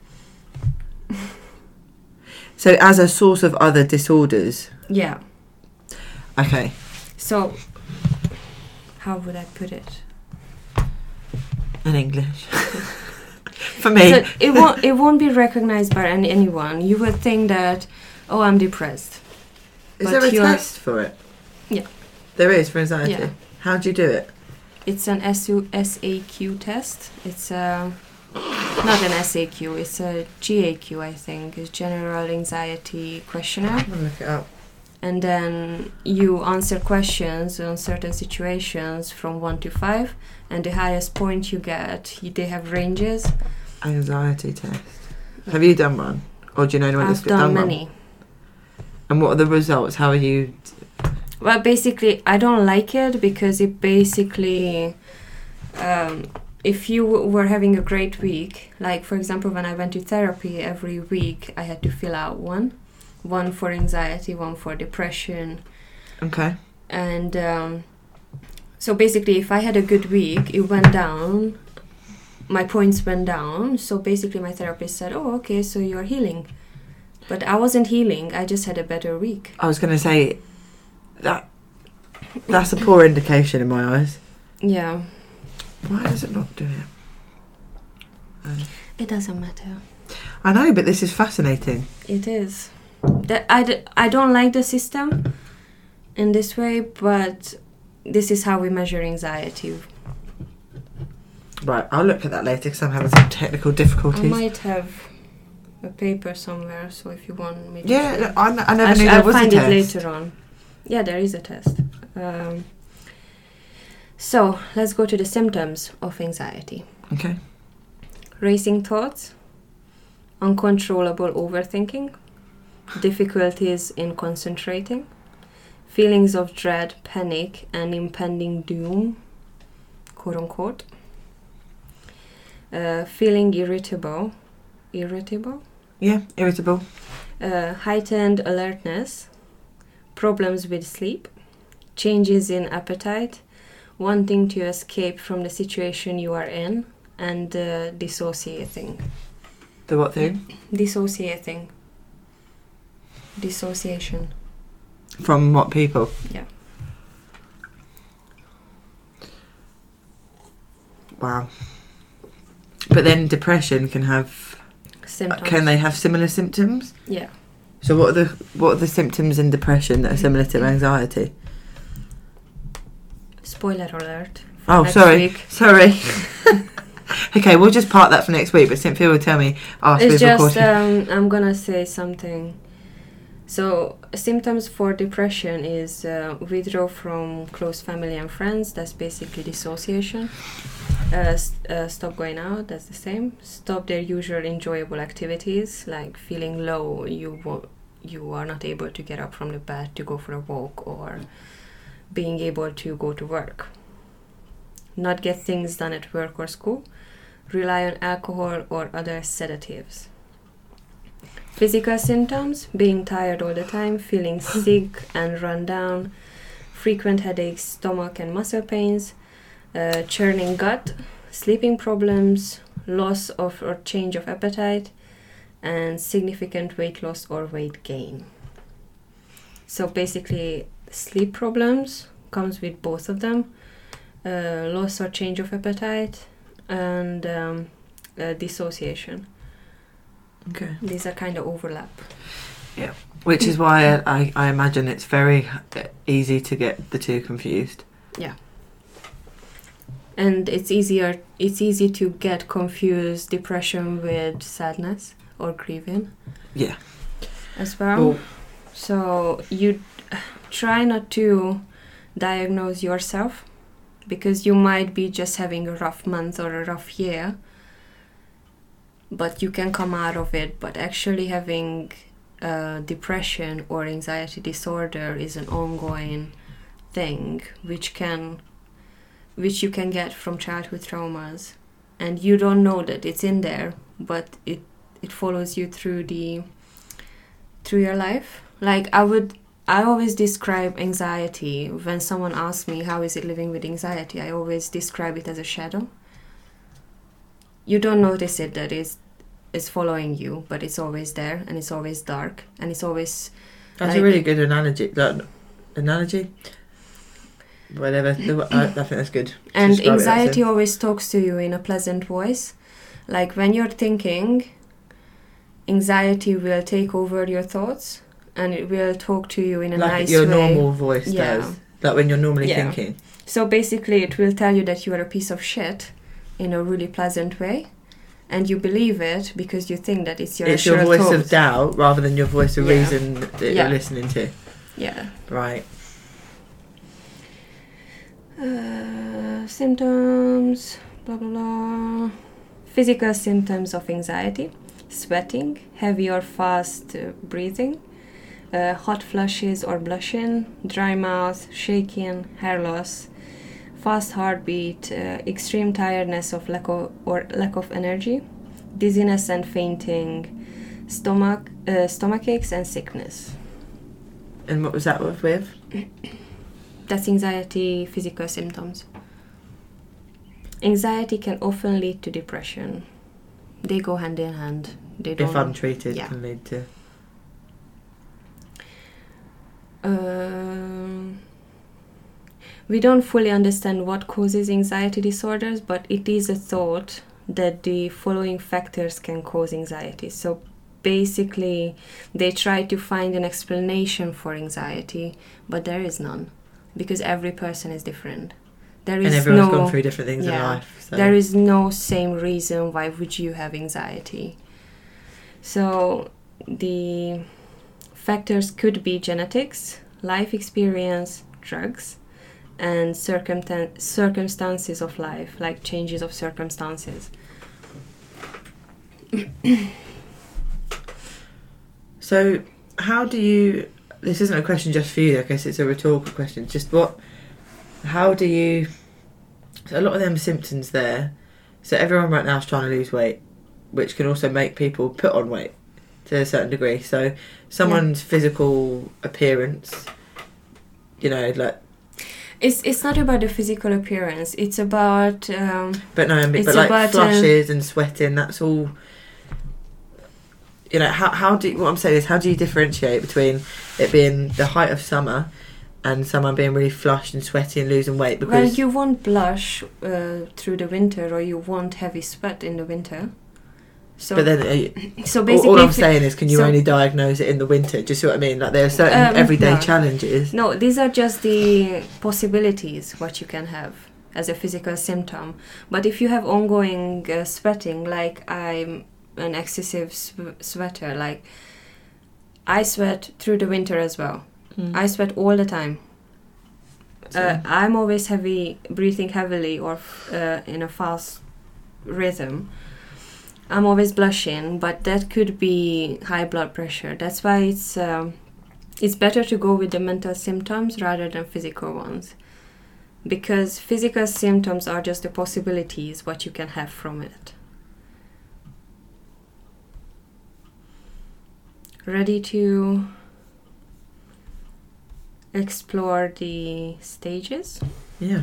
so as a source of other disorders. yeah. Okay. So how would I put it? In English. For me. So it won't it won't be recognized by any, anyone. You would think that, oh, I'm depressed. Is but there a you're- test for it? Yeah. There is for anxiety. Yeah. How do you do it? It's an S U S A Q test. It's a not an S A Q. It's a G A Q, I think. It's General Anxiety Questionnaire. I'm gonna look it up. And then you answer questions on certain situations from one to five, and the highest point you get, y- they have ranges. Anxiety test. Have you done one, or do you know anyone I've that's done one? many. And what are the results? How are you? Well, basically, I don't like it because it basically, um, if you w- were having a great week, like for example, when I went to therapy every week, I had to fill out one, one for anxiety, one for depression, Okay. and um, so basically, if I had a good week, it went down my points went down. So basically my therapist said, oh, okay, so you're healing. But I wasn't healing. I just had a better week. I was going to say, that that's a poor indication in my eyes. Yeah. Why does it not do it? Um, It doesn't matter. I know, but this is fascinating. It is. That I, d- I don't like the system in this way, but this is how we measure anxiety. Right, I'll look at that later because I'm having some technical difficulties. I might have a paper somewhere, so if you want me to... Yeah, see. no, I, n- I never I sh- knew there I'll was find a it test. later on. Yeah, there is a test. Um, so, let's go to the symptoms of anxiety. Okay. Racing thoughts, uncontrollable overthinking, difficulties in concentrating, feelings of dread, panic, and impending doom, quote unquote, uh, feeling irritable, irritable, Yeah, irritable. uh, heightened alertness, problems with sleep, changes in appetite, wanting to escape from the situation you are in, and uh, dissociating. The what thing? Dissociating. Dissociation. From what people? Yeah. Wow. But then depression can have... Symptoms. Can they have similar symptoms? Yeah. So what are the what are the symptoms in depression that are similar to anxiety? Spoiler alert. for Oh, next sorry. week. Sorry. Okay, we'll just park that for next week, but Cynthia will tell me after It's we've just, recorded. um, I'm gonna say something. So, symptoms for depression is uh, withdraw from close family and friends. That's basically dissociation. Uh, st- uh, stop going out. That's the same. Stop their usual enjoyable activities, like feeling low. You wo- you are not able to get up from the bed to go for a walk, or being able to go to work. Not get things done at work or school. Rely on alcohol or other sedatives. Physical symptoms, being tired all the time, feeling sick and run down, frequent headaches, stomach and muscle pains, uh, churning gut, sleeping problems, loss of or change of appetite, and significant weight loss or weight gain. So basically, sleep problems comes with both of them, uh, loss or change of appetite, and um, uh, dissociation. Okay. These are kind of overlap. Which is why I, I, I imagine it's very easy to get the two confused. And it's easier it's easy to get confused depression with sadness or grieving Yeah. as well. Well, So you try not to diagnose yourself, because you might be just having a rough month or a rough year, but you can come out of it. But actually having uh, depression or anxiety disorder is an ongoing thing, which can which you can get from childhood traumas, and you don't know that it's in there, but it it follows you through the through your life. Like I would I always describe anxiety when someone asks me how is it living with anxiety. I always describe it as a shadow. You don't notice it that it's it's following you, but it's always there, and it's always dark, and it's always that's like, a really good analogy. That, analogy? Whatever. I, I think that's good. and Describe it, that's anxiety it. always talks to you in a pleasant voice. Like when you're thinking, anxiety will take over your thoughts, and it will talk to you in a like nice your way. normal voice Yeah. does. Like when you're normally Yeah. thinking. So basically it will tell you that you are a piece of shit in a really pleasant way, and you believe it because you think that it's your It's your assured voice of thoughts. doubt rather than your voice of Yeah. reason that Yeah. you're listening to. Yeah. Right. Uh, symptoms, blah blah blah. Physical symptoms of anxiety: sweating, heavy or fast uh, breathing, uh, hot flushes or blushing, dry mouth, shaking, hair loss, fast heartbeat, uh, extreme tiredness of lack of or lack of energy, dizziness and fainting, stomach uh, stomach aches and sickness. And what was that with? That's anxiety physical symptoms. Anxiety can often lead to depression. They go hand in hand. They don't, if untreated, yeah. can lead to. Um, we don't fully understand what causes anxiety disorders, but it is a thought that the following factors can cause anxiety. So basically, they try to find an explanation for anxiety, but there is none, because every person is different. There is and everyone's no, gone through different things yeah, in life. So. There is no same reason why would you have anxiety. So the factors could be genetics, life experience, drugs, and circumtan- circumstances of life, like changes of circumstances. So how do you, this isn't a question just for you, I guess it's a rhetorical question, just what, how do you, so a lot of them symptoms there, so everyone right now is trying to lose weight, which can also make people put on weight to a certain degree. So someone's yeah. physical appearance, you know, like, It's it's not about the physical appearance. It's about. Um, but no, I mean, but like about, flushes uh, and sweating. That's all. You know, how how do you, what I'm saying is, how do you differentiate between it being the height of summer and someone being really flushed and sweaty and losing weight? Because well, you won't blush uh, through the winter, or you won't heavy sweat in the winter. So, but then, uh, so basically, all, all I'm saying is, can you so only diagnose it in the winter? Do you see what I mean? Like there are certain um, everyday no. challenges. No, these are just the possibilities what you can have as a physical symptom. But if you have ongoing uh, sweating, like I'm an excessive sw- sweater, like I sweat through the winter as well. Mm. I sweat all the time. Uh, I'm always heavy, breathing heavily or uh, in a fast rhythm. I'm always blushing, but that could be high blood pressure. That's why it's um, it's better to go with the mental symptoms rather than physical ones. Because physical symptoms are just the possibilities what you can have from it. Ready to explore the stages? Yeah.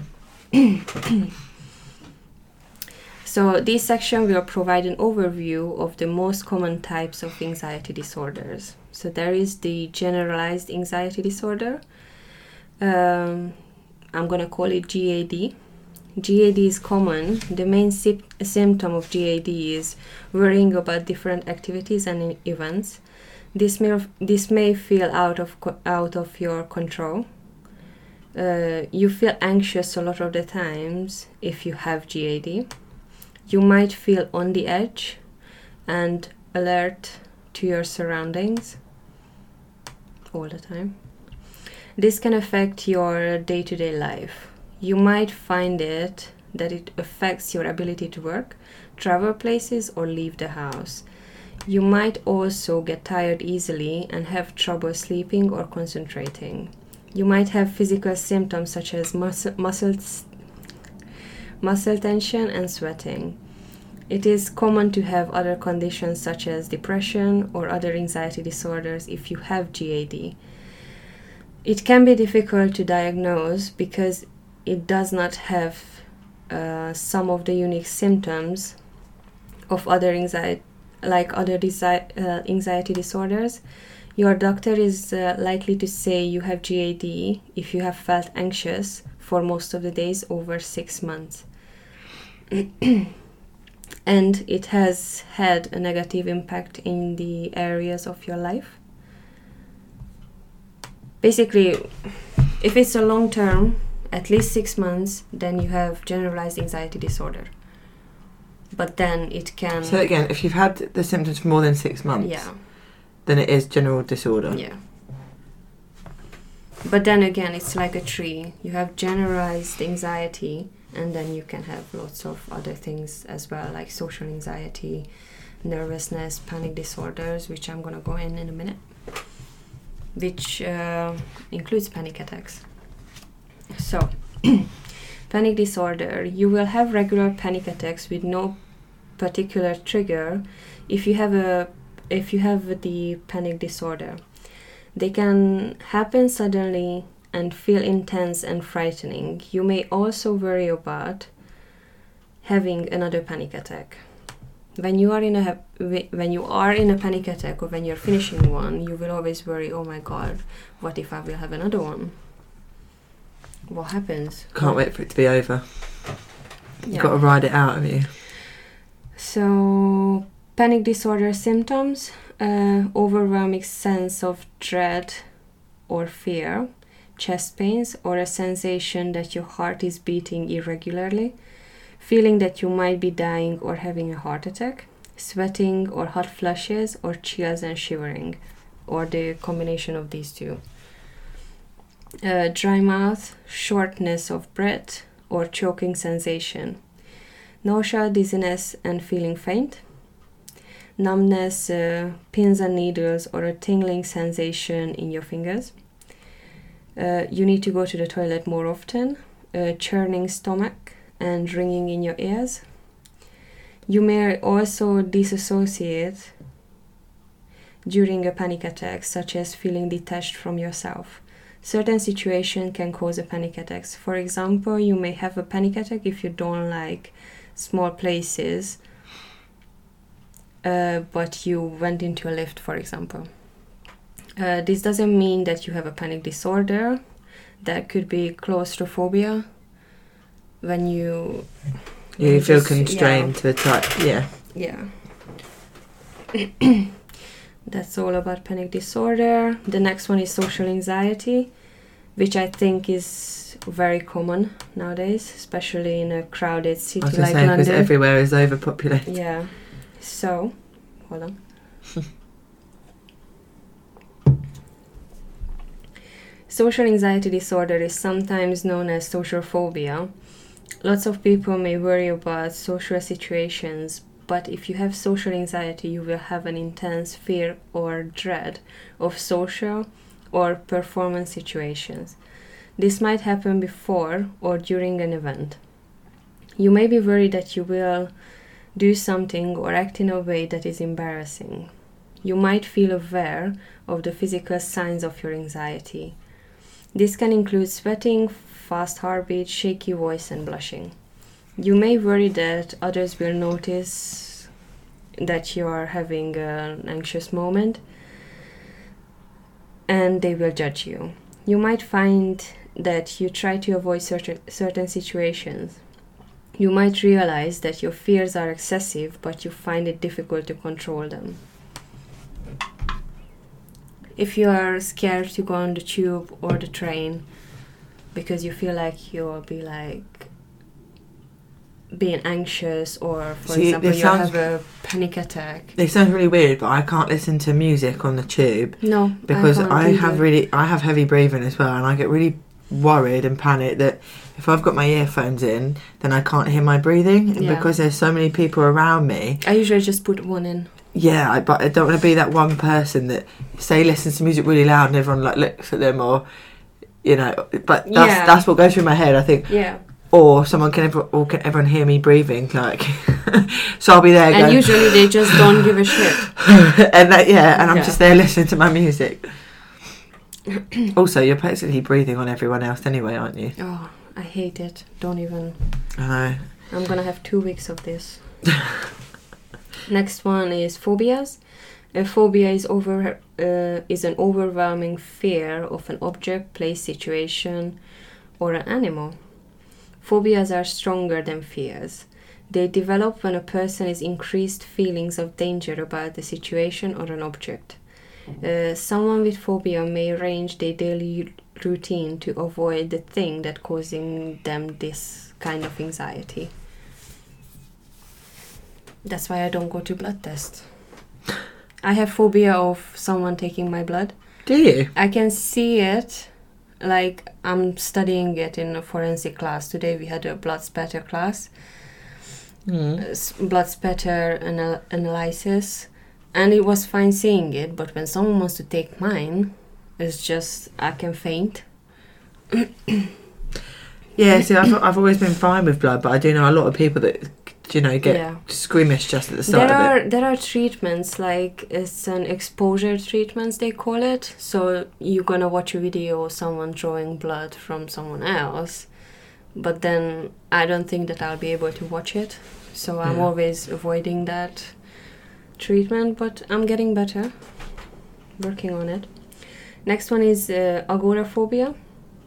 So this section will provide an overview of the most common types of anxiety disorders. So there is the generalized anxiety disorder. Um, I'm going to call it G A D. G A D is common. The main sy- symptom of G A D is worrying about different activities and events. This may, this may feel out of co- out of your control. Uh, you feel anxious a lot of the times if you have G A D. You might feel on the edge and alert to your surroundings all the time. This can affect your day-to-day life. You might find it that it affects your ability to work, travel places, or leave the house. You might also get tired easily and have trouble sleeping or concentrating. You might have physical symptoms such as muscle, muscles, muscle tension and sweating. It is common to have other conditions such as depression or other anxiety disorders if you have G A D. It can be difficult to diagnose because it does not have uh, some of the unique symptoms of other anxiety, like other desi- uh, anxiety disorders. Your doctor is uh, likely to say you have G A D if you have felt anxious for most of the days over six months. And it has had a negative impact in the areas of your life. Basically, if it's a long term, at least six months, then you have generalized anxiety disorder. But then it can... So again, if you've had the symptoms for more than six months, yeah. then it is general disorder. Yeah. But then again, it's like a tree. You have generalized anxiety, and then you can have lots of other things as well, like social anxiety, nervousness, panic disorders, which I'm going to go in in a minute, which uh, includes panic attacks. So, panic disorder. You will have regular panic attacks with no particular trigger if you have a if you have the panic disorder. They can happen suddenly and feel intense and frightening. You may also worry about having another panic attack. When you are in a when you are in a panic attack or when you're finishing one, you will always worry, oh my god, what if I will have another one? What happens? Can't what? wait for it to be over. Yeah. You've got to ride it out, have you? So, panic disorder symptoms, uh, overwhelming sense of dread or fear, chest pains, or a sensation that your heart is beating irregularly, feeling that you might be dying or having a heart attack, sweating or hot flushes or chills and shivering, or the combination of these two. Uh, dry mouth, shortness of breath, or choking sensation. Nausea, dizziness, and feeling faint. Numbness, uh, pins and needles, or a tingling sensation in your fingers. Uh, you need to go to the toilet more often. Uh, churning stomach and ringing in your ears. You may also disassociate during a panic attack, such as feeling detached from yourself. Certain situations can cause a panic attack. For example, you may have a panic attack if you don't like small places, uh, but you went into a lift, for example. Uh, this doesn't mean that you have a panic disorder. That could be claustrophobia, when you... Yeah, you you feel just- constrained to a type. Yeah. Yeah. That's all about panic disorder. The next one is social anxiety, which I think is very common nowadays, especially in a crowded I city was going like to say, because London. everywhere is overpopulated. Yeah. So, hold on. Social anxiety disorder is sometimes known as social phobia. Lots of people may worry about social situations, but if you have social anxiety, you will have an intense fear or dread of social or performance situations. This might happen before or during an event. You may be worried that you will do something or act in a way that is embarrassing. You might feel aware of the physical signs of your anxiety. This can include sweating, fast heartbeat, shaky voice, and blushing. You may worry that others will notice that you are having an anxious moment and they will judge you. You might find that you try to avoid certain, certain situations. You might realize that your fears are excessive, but you find it difficult to control them. If you are scared to go on the tube or the train because you feel like you'll be like being anxious, or for See, example this you sounds- have a panic attack. It sounds really weird, but I can't listen to music on the tube No, because I, can't I, have either. really, I have heavy breathing as well, and I get really worried and panicked that if I've got my earphones in, then I can't hear my breathing, and Yeah. because there's so many people around me. I usually just put one in. Yeah, I, but I don't want to be that one person that say listens to music really loud and everyone like looks at them, or you know. But that's Yeah. that's what goes through my head. I think, Yeah. or someone can ever, or can everyone hear me breathing? Like, so I'll be there. And going, usually they just don't give a shit. and that, yeah, and I'm Yeah. just there listening to my music. Also, you're basically breathing on everyone else anyway, aren't you? Oh, I hate it. Don't even. I know. I'm gonna have two weeks of this. Next one is phobias. A phobia is over uh, is an overwhelming fear of an object, place, situation, or an animal. Phobias are stronger than fears. They develop when a person is increased feelings of danger about the situation or an object. Uh, someone with phobia may arrange their daily routine to avoid the thing that causing them this kind of anxiety. That's why I don't go to blood tests. I have phobia of someone taking my blood. Do you? I can see it, like I'm studying it in a forensic class. Today we had a blood spatter class, Mm. uh, s- blood spatter anal- analysis, and it was fine seeing it, but when someone wants to take mine, it's just, I can faint. Yeah, see, I've, I've always been fine with blood, but I do know a lot of people that, you know, get Yeah. squeamish just at the start There of are it. there are treatments, like it's an exposure treatments they call it. So you're gonna watch a video of someone drawing blood from someone else, but then I don't think that I'll be able to watch it. So I'm Yeah. always avoiding that treatment, but I'm getting better. Working on it. Next one is uh, agoraphobia.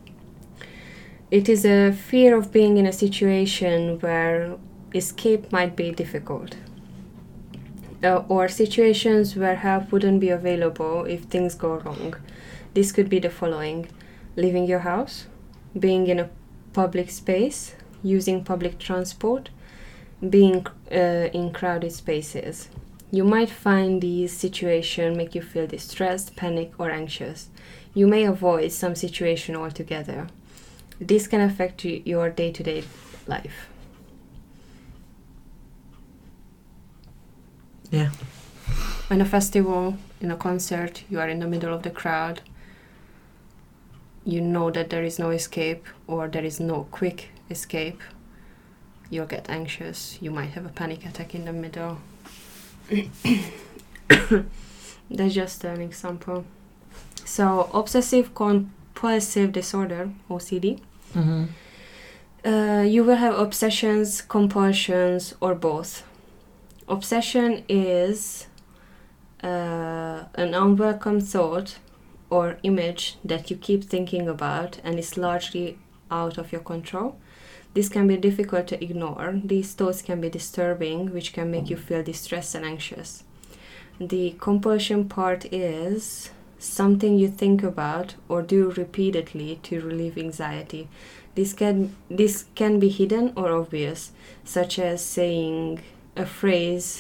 It is a fear of being in a situation where escape might be difficult. Uh, or situations where help wouldn't be available if things go wrong. This could be the following: leaving your house, being in a public space, using public transport, being uh, in crowded spaces. You might find these situations make you feel distressed, panic, or anxious. You may avoid some situation altogether. This can affect y- your day-to-day life. Yeah. In a festival, in a concert, you are in the middle of the crowd. You know that there is no escape, or there is no quick escape. You'll get anxious. You might have a panic attack in the middle. That's just an example. So, obsessive compulsive disorder, O C D. Mm-hmm. Uh, you will have obsessions, compulsions, or both. Obsession is uh, an unwelcome thought or image that you keep thinking about and is largely out of your control. This can be difficult to ignore. These thoughts can be disturbing, which can make you feel distressed and anxious. The compulsion part is something you think about or do repeatedly to relieve anxiety. This can this can be hidden or obvious, such as saying a phrase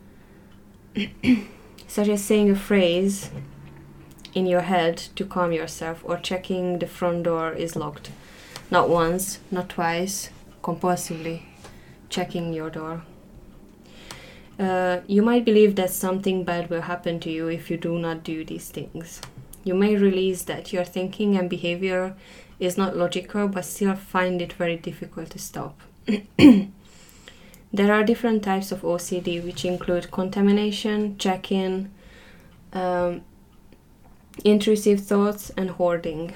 such as saying a phrase in your head to calm yourself, or checking the front door is locked. Not once, not twice, compulsively checking your door. Uh, you might believe that something bad will happen to you if you do not do these things. You may realize that your thinking and behavior is not logical, but still find it very difficult to stop. There are different types of O C D, which include contamination, check-in, um, intrusive thoughts, and hoarding.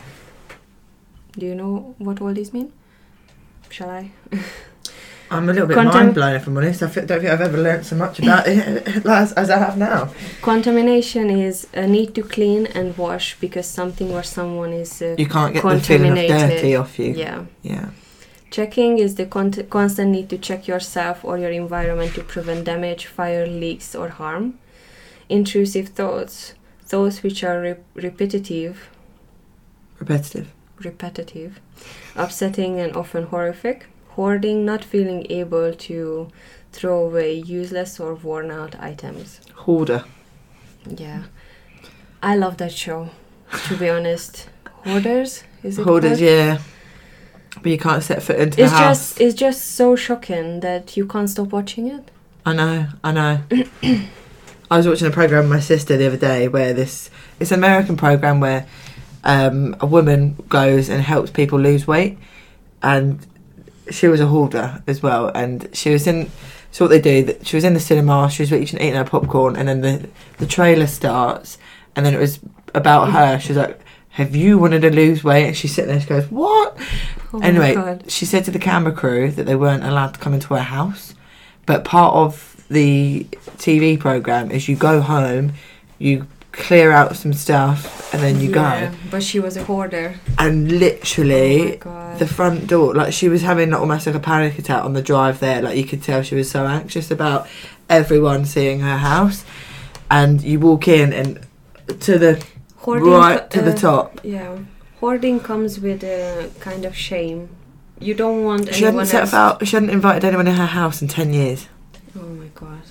Do you know what all these mean? Shall I? I'm a little bit Contem- mind blown, if I'm honest. I f- don't think I've ever learnt so much about it as, as I have now. Contamination is a need to clean and wash because something or someone is uh, You can't get the feeling of contaminated. dirty off you. Yeah. Yeah. Checking is the con- constant need to check yourself or your environment to prevent damage, fire, leaks, or harm. Intrusive thoughts, thoughts which are re- repetitive, Repetitive. repetitive, upsetting, and often horrific. Hoarding, not feeling able to throw away useless or worn out items. Hoarder. Yeah. I love that show, to be honest. Hoarders? Is it Hoarders, called? yeah. But you can't set foot into It's the house. just it's just so shocking that you can't stop watching it. I know, I know. I was watching a programme with my sister the other day where this... It's an American programme where um, a woman goes and helps people lose weight. And she was a hoarder as well. And she was in... So what they do, that she was in the cinema, she was eating, eating her popcorn, and then the, the trailer starts, and then it was about her. She was like, have you wanted to lose weight? And she's sitting there, she goes, what? Oh my Anyway, God. she said to the camera crew that they weren't allowed to come into her house. But part of the T V programme is you go home, you clear out some stuff, and then you Yeah, go. but she was a hoarder. And Oh my literally, God. the front door, like she was having like, almost like a panic attack on the drive there. Like you could tell she was so anxious about everyone seeing her house. And you walk in and to the Hoarding right co- to the uh, top. Yeah. Hoarding comes with a kind of shame. You don't want She anyone hadn't set else... out. She hadn't invited anyone in her house in ten years. Oh my God.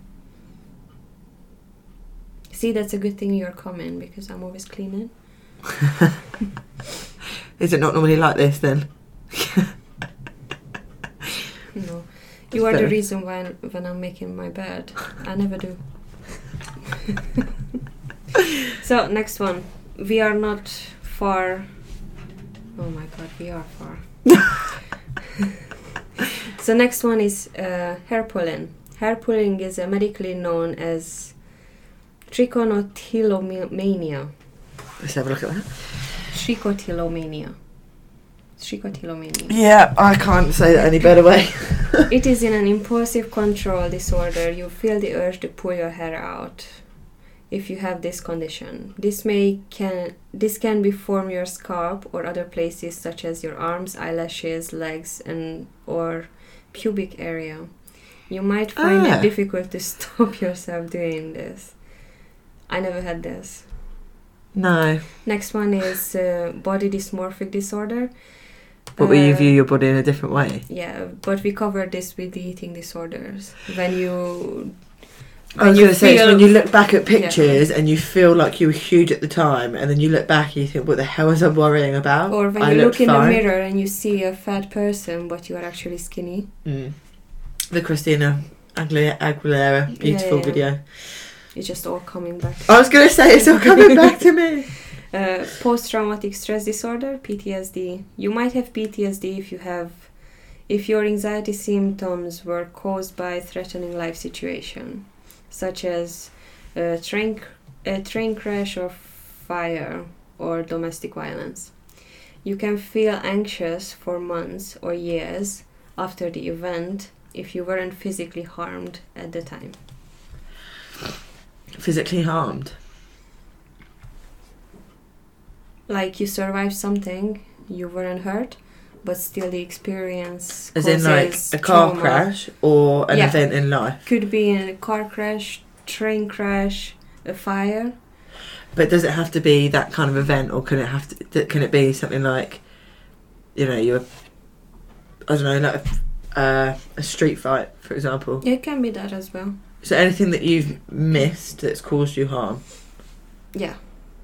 See, that's a good thing you're coming, because I'm always cleaning. Is it not normally like this then? No. You are the fair. reason why when I'm making my bed. I never do. So, next one. We are not far... Oh my God, we are far. So, next one is uh, hair pulling. Hair pulling is uh, medically known as trichotillomania. Let's have a look at that. Trichotillomania. trichotillomania. Yeah, I can't say that any better way. It is in an impulsive control disorder. You feel the urge to pull your hair out if you have this condition. This may can this can be from your scalp or other places such as your arms, eyelashes, legs, and or pubic area. You might find Ah. it difficult to stop yourself doing this. I never had this. No. Next one is uh, body dysmorphic disorder. But will you Uh, view your body in a different way? Yeah, but we covered this with the eating disorders. When you I was you going to say, it's feel- when you look back at pictures and you feel like you were huge at the time, and then you look back and you think, what the hell was I worrying about? or when I you looked look in fine. the mirror and you see a fat person, but you are actually skinny. Mm. The Christina Aguilera, Aguilera beautiful yeah. video. It's just all coming back. I was going to say, it's all coming back to me. Uh, post-traumatic stress disorder, P T S D. You might have P T S D if you have, if your anxiety symptoms were caused by a threatening life situation, such as a train, a train crash or fire or domestic violence. You can feel anxious for months or years after the event if you weren't physically harmed at the time. Physically harmed. Like you survived something, you weren't hurt, but still the experience As in like causes a car trauma. crash or an Yeah. event in life. Could be a car crash, train crash, a fire. But does it have to be that kind of event, or can it have to? th- Can it be something like, you know, you're, I don't know, like a, uh, a street fight, for example. It can be that as well. So anything that you've missed that's caused you harm. Yeah.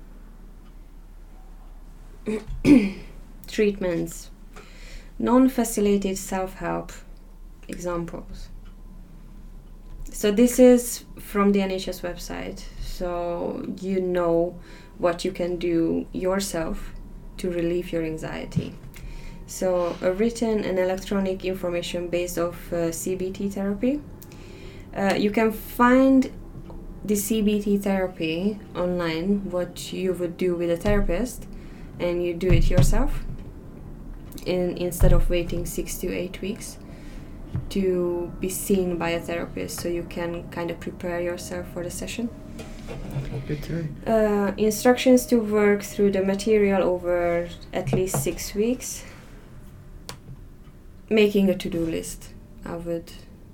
Treatments. Non-facilitated self-help examples. So this is from the N H S website. So you know what you can do yourself to relieve your anxiety. So a written and electronic information based off uh, C B T therapy. Uh, you can find the C B T therapy online, what you would do with a therapist, and you do it yourself in, instead of waiting six to eight weeks to be seen by a therapist, so you can kind of prepare yourself for the session. Good to know. Uh, instructions to work through the material over at least six weeks. Making a to-do list. I would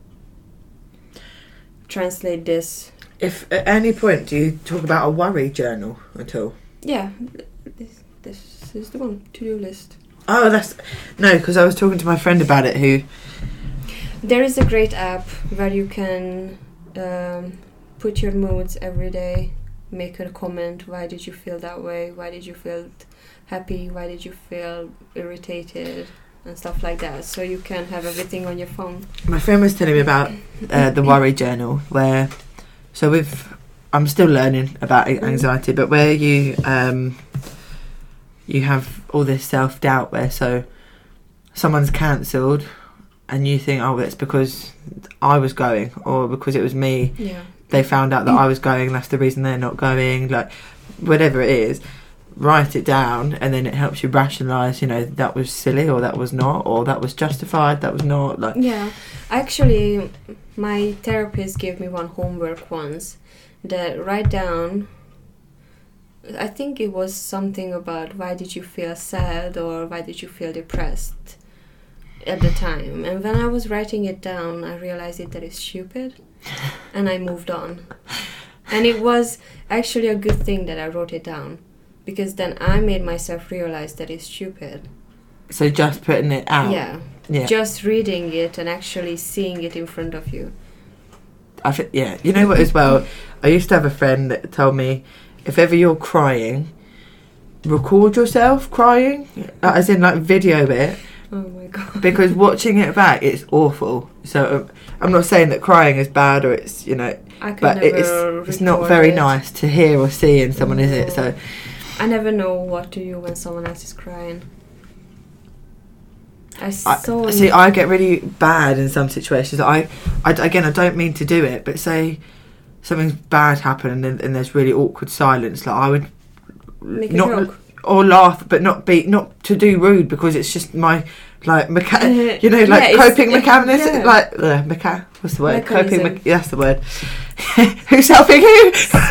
translate this. If at any point do you talk about a worry journal at all? Yeah, this, this is the one, to-do list. Oh, that's no, because I was talking to my friend about it. Who There is a great app where you can um, put your moods every day, make a comment. Why did you feel that way? Why did you feel happy? Why did you feel irritated? And stuff like that. So you can have everything on your phone. my friend was telling me about uh, the worry journal, where so with I'm still learning about anxiety, but where you um, you have all this self doubt, where so someone's cancelled, and you think, oh, it's because I was going, or because it was me. Yeah. They found out that I was going. That's the reason they're not going. Like whatever it is. Write it down, and then it helps you rationalise, you know, that was silly, or that was not, or that was justified, that was not. Like, Yeah. Actually, my therapist gave me one homework once that write down, I think it was something about why did you feel sad or why did you feel depressed at the time. And when I was writing it down, I realized it, that it's stupid, and I moved on. And it was actually a good thing that I wrote it down, because then I made myself realize that it's stupid. so just putting it out. Yeah. Yeah. Just reading it and actually seeing it in front of you. I th- yeah. You know what? As well, I used to have a friend that told me, if ever you're crying, record yourself crying, uh, as in like video it, Oh my god. because watching it back, it's awful. So um, I'm not saying that crying is bad, or it's, you know, I could but never it's it's not record very it. nice to hear or see in someone, is it? So. I never know what to do when someone else is crying. I I, saw. see, I get really bad in some situations. I, I, again, I don't mean to do it, but say something bad happened and, and there's really awkward silence. Like I would Make a not. joke. or laugh, but not be not to do rude because it's just my like mecha- Uh, you know like yeah, coping it's- mechanism yeah. like uh, mecha- what's the word Mechanism. coping me- that's the word. Who's helping who?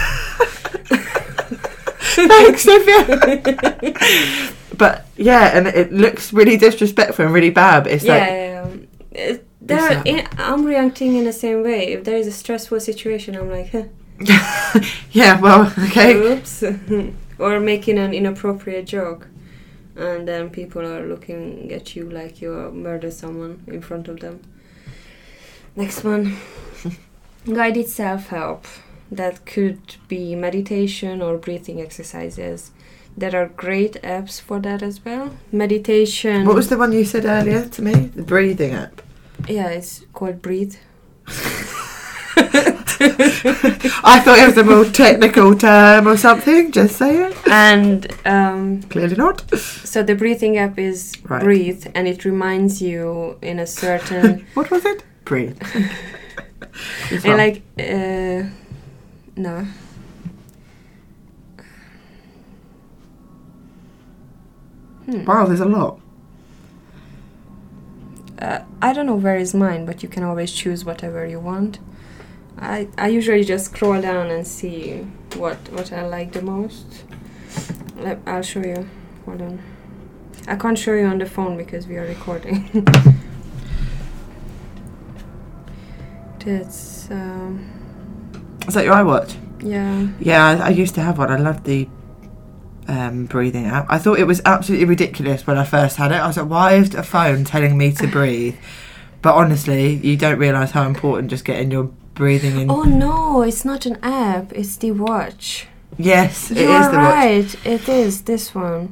Thanks, Sophia. But yeah, and it looks really disrespectful and really bad. But it's yeah, like yeah, yeah. It- there, It's, uh, in, I'm reacting in the same way. If there is a stressful situation, I'm like, huh, yeah, well, okay. oops, or making an inappropriate joke, and then people are looking at you like you murdered someone in front of them. Next one, guided self-help. That could be meditation or breathing exercises. There are great apps for that as well. Meditation. What was the one you said earlier to me? The breathing app. Yeah, it's called Breathe. I thought it was a more technical term or something. Just saying. And um, Clearly not. so the breathing app is Right. Breathe, and it reminds you in a certain What was it? Breathe. It's and fine. like uh, no. Hmm. Wow, there's a lot. Uh, I don't know where is mine, but you can always choose whatever you want. I I usually just scroll down and see what what I like the most. Let, I'll show you. Hold on. I can't show you on the phone because we are recording. That's um, Is that your iWatch? yeah. Yeah, I, I used to have one. I loved the um, breathing app. I thought it was absolutely ridiculous when I first had it. I was like, why is a phone telling me to breathe? But honestly, you don't realise how important just getting your breathing in. Oh no, it's not an app. It's the watch. Yes, it You're is the watch. right. It is this one.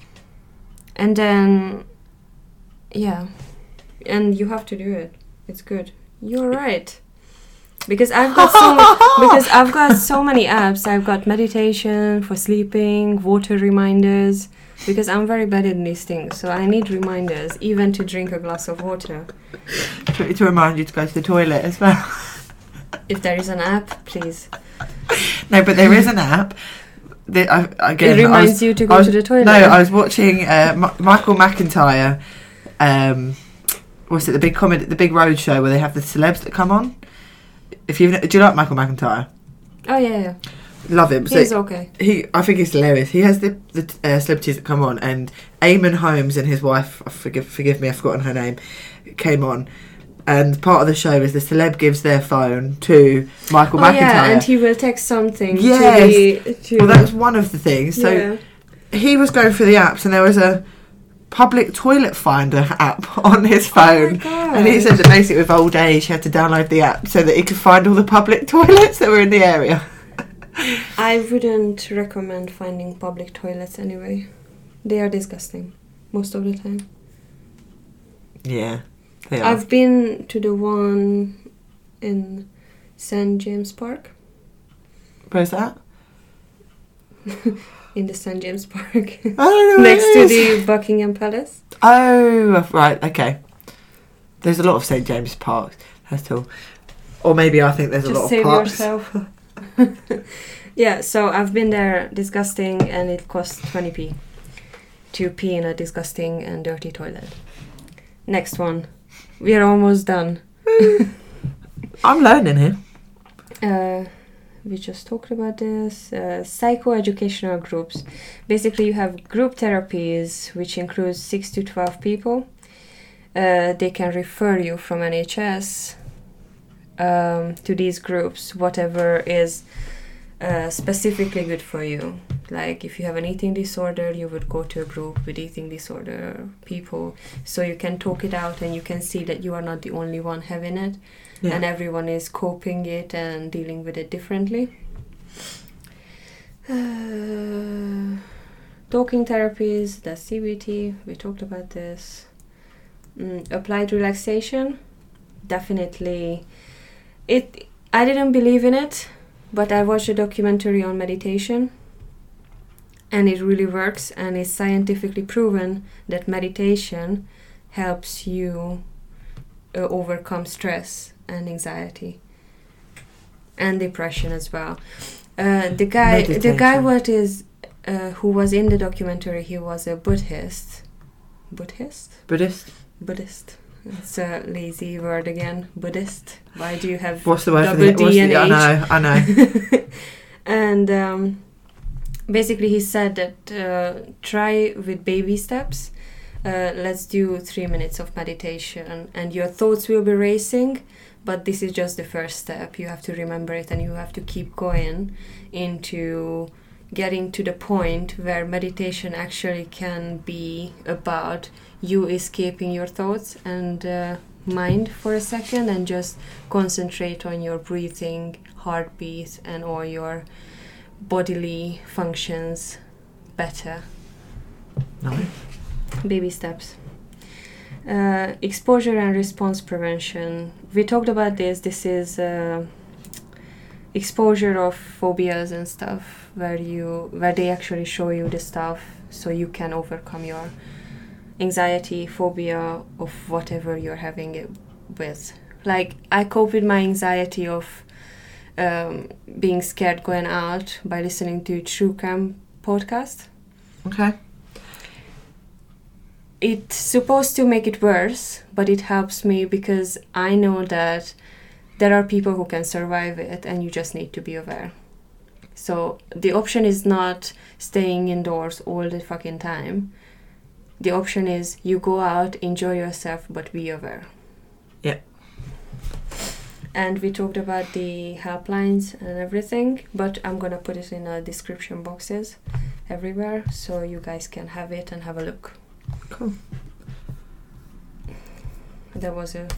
And then, yeah, and you have to do it. It's good. You're right. Because I've got so mu- because I've got so many apps. I've got meditation for sleeping, water reminders. Because I'm very bad at these things, so I need reminders, even to drink a glass of water. to, to remind you to go to the toilet as well. If there is an app, please. No, but there is an app. That I, again, it reminds I was, you to I go was- to the toilet. No, I was watching uh, M- Michael McIntyre. Um, what's it? The big comedy, the big road show where they have the celebs that come on. If you do you like Michael McIntyre? Oh yeah, yeah. Love him. So He's okay. he, I think he's hilarious. He has the the uh, celebrities that come on, and Eamon Holmes and his wife, I forgive forgive me, I've forgotten her name, came on. And part of the show is the celeb gives their phone to Michael Oh McIntyre. yeah, and he will text something Yes. to the... To Well, that was one of the things. So yeah. he was going through the apps, and there was a public toilet finder app on his Oh phone. my God. And he said that basically with old age, he had to download the app so that he could find all the public toilets that were in the area. I wouldn't recommend finding public toilets anyway. They are disgusting most of the time. Yeah, they are. I've been to the one in Saint James Park. Where's that? In the Saint James Park. I don't know. where Next it to is. the Buckingham Palace. Oh, right, okay. There's a lot of Saint James Parks. That's all. Or maybe I think there's a Just lot save of parks. yourself. Yeah, so I've been there, disgusting, and it costs twenty p to pee in a disgusting and dirty toilet. Next one. We are almost done. I'm learning here. Uh, we just talked about this. Uh, psychoeducational groups. Basically, you have group therapies, which includes six to twelve people. Uh, they can refer you from N H S um, to these groups, whatever is uh, specifically good for you. Like if you have an eating disorder, you would go to a group with eating disorder people, so you can talk it out and you can see that you are not the only one having it. Yeah. And everyone is coping it and dealing with it differently. Uh, talking therapies, that's C B T, we talked about this. Mm, applied relaxation, definitely. It. I didn't believe in it, but I watched a documentary on meditation, and it really works, and it's scientifically proven that meditation helps you uh, overcome stress and anxiety and depression as well. Uh, the guy, the guy, Meditation. what is uh, who was in the documentary, he was a Buddhist. Buddhist? Buddhist? Buddhist. It's a lazy word again. Buddhist. Why do you have What's the word double for the, D and the, I H? know, I know. And um, basically he said that uh, try with baby steps. Uh, let's do three minutes of meditation and your thoughts will be racing, but this is just the first step. You have to remember it and you have to keep going into getting to the point where meditation actually can be about you escaping your thoughts and uh, mind for a second and just concentrate on your breathing, heartbeat, and all your bodily functions better. Nice. Baby steps. Uh, exposure and response prevention. We talked about this. This is uh, exposure of phobias and stuff, where you where they actually show you the stuff so you can overcome your anxiety, phobia of whatever you're having it with. Like I cope with my anxiety of um, being scared going out by listening to True Crime podcast. Okay. It's supposed to make it worse, but it helps me because I know that there are people who can survive it and you just need to be aware. So the option is not staying indoors all the fucking time. The option is you go out, enjoy yourself, but be aware. Yeah. And we talked about the helplines and everything, but I'm gonna put it in the description boxes everywhere so you guys can have it and have a look. Cool. That was a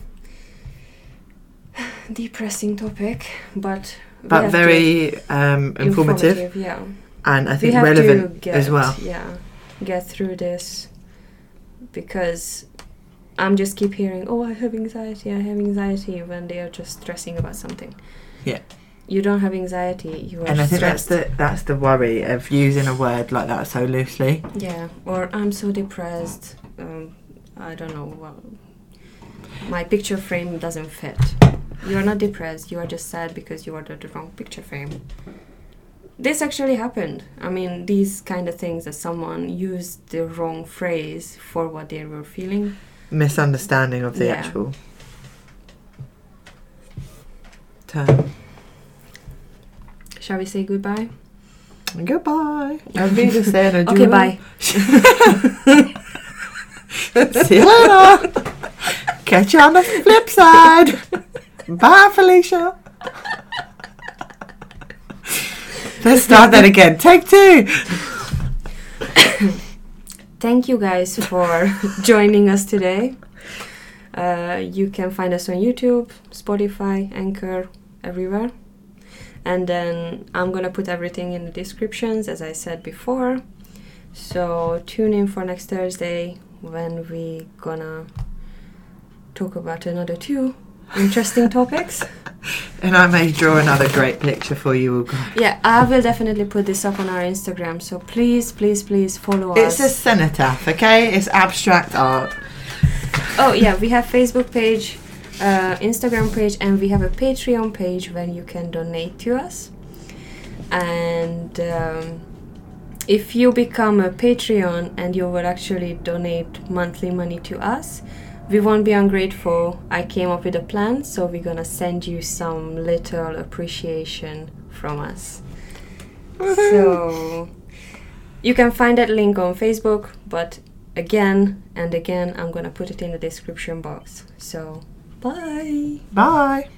depressing topic, but we But have very um, to, informative, informative, yeah. and I We think have relevant to get, as well. Yeah, get through this because I'm just keep hearing, oh, I have anxiety, I have anxiety, when they are just stressing about something. Yeah. You don't have anxiety, you are And I think stressed. that's the that's the worry of using a word like that so loosely. Yeah, or I'm so depressed. Um, I don't know. Well, my picture frame doesn't fit. You are not depressed. You are just sad because you ordered the wrong picture frame. This actually happened. I mean, these kind of things that someone used the wrong phrase for what they were feeling. Misunderstanding of the Yeah. actual term. Shall we say goodbye? Goodbye. I'm really saying a Okay, bye. See you later. Catch you on the flip side. Bye, Felicia. Let's start that again. Take two. Thank you guys for joining us today. Uh, you can find us on YouTube, Spotify, Anchor, everywhere. And then I'm gonna put everything in the descriptions, as I said before. So tune in for next Thursday when we gonna talk about another two interesting topics. And I may draw another great picture for you all guys. Yeah, I will definitely put this up on our Instagram. So please, please, please follow It's us. a cenotaph, okay? It's abstract art. Oh yeah, we have Facebook page, uh, Instagram page, and we have a Patreon page where you can donate to us. And um, if you become a Patreon and you will actually donate monthly money to us, we won't be ungrateful. I came up with a plan, so we're gonna send you some little appreciation from us. So you can find that link on Facebook, but again and again, I'm gonna put it in the description box. So bye. Bye.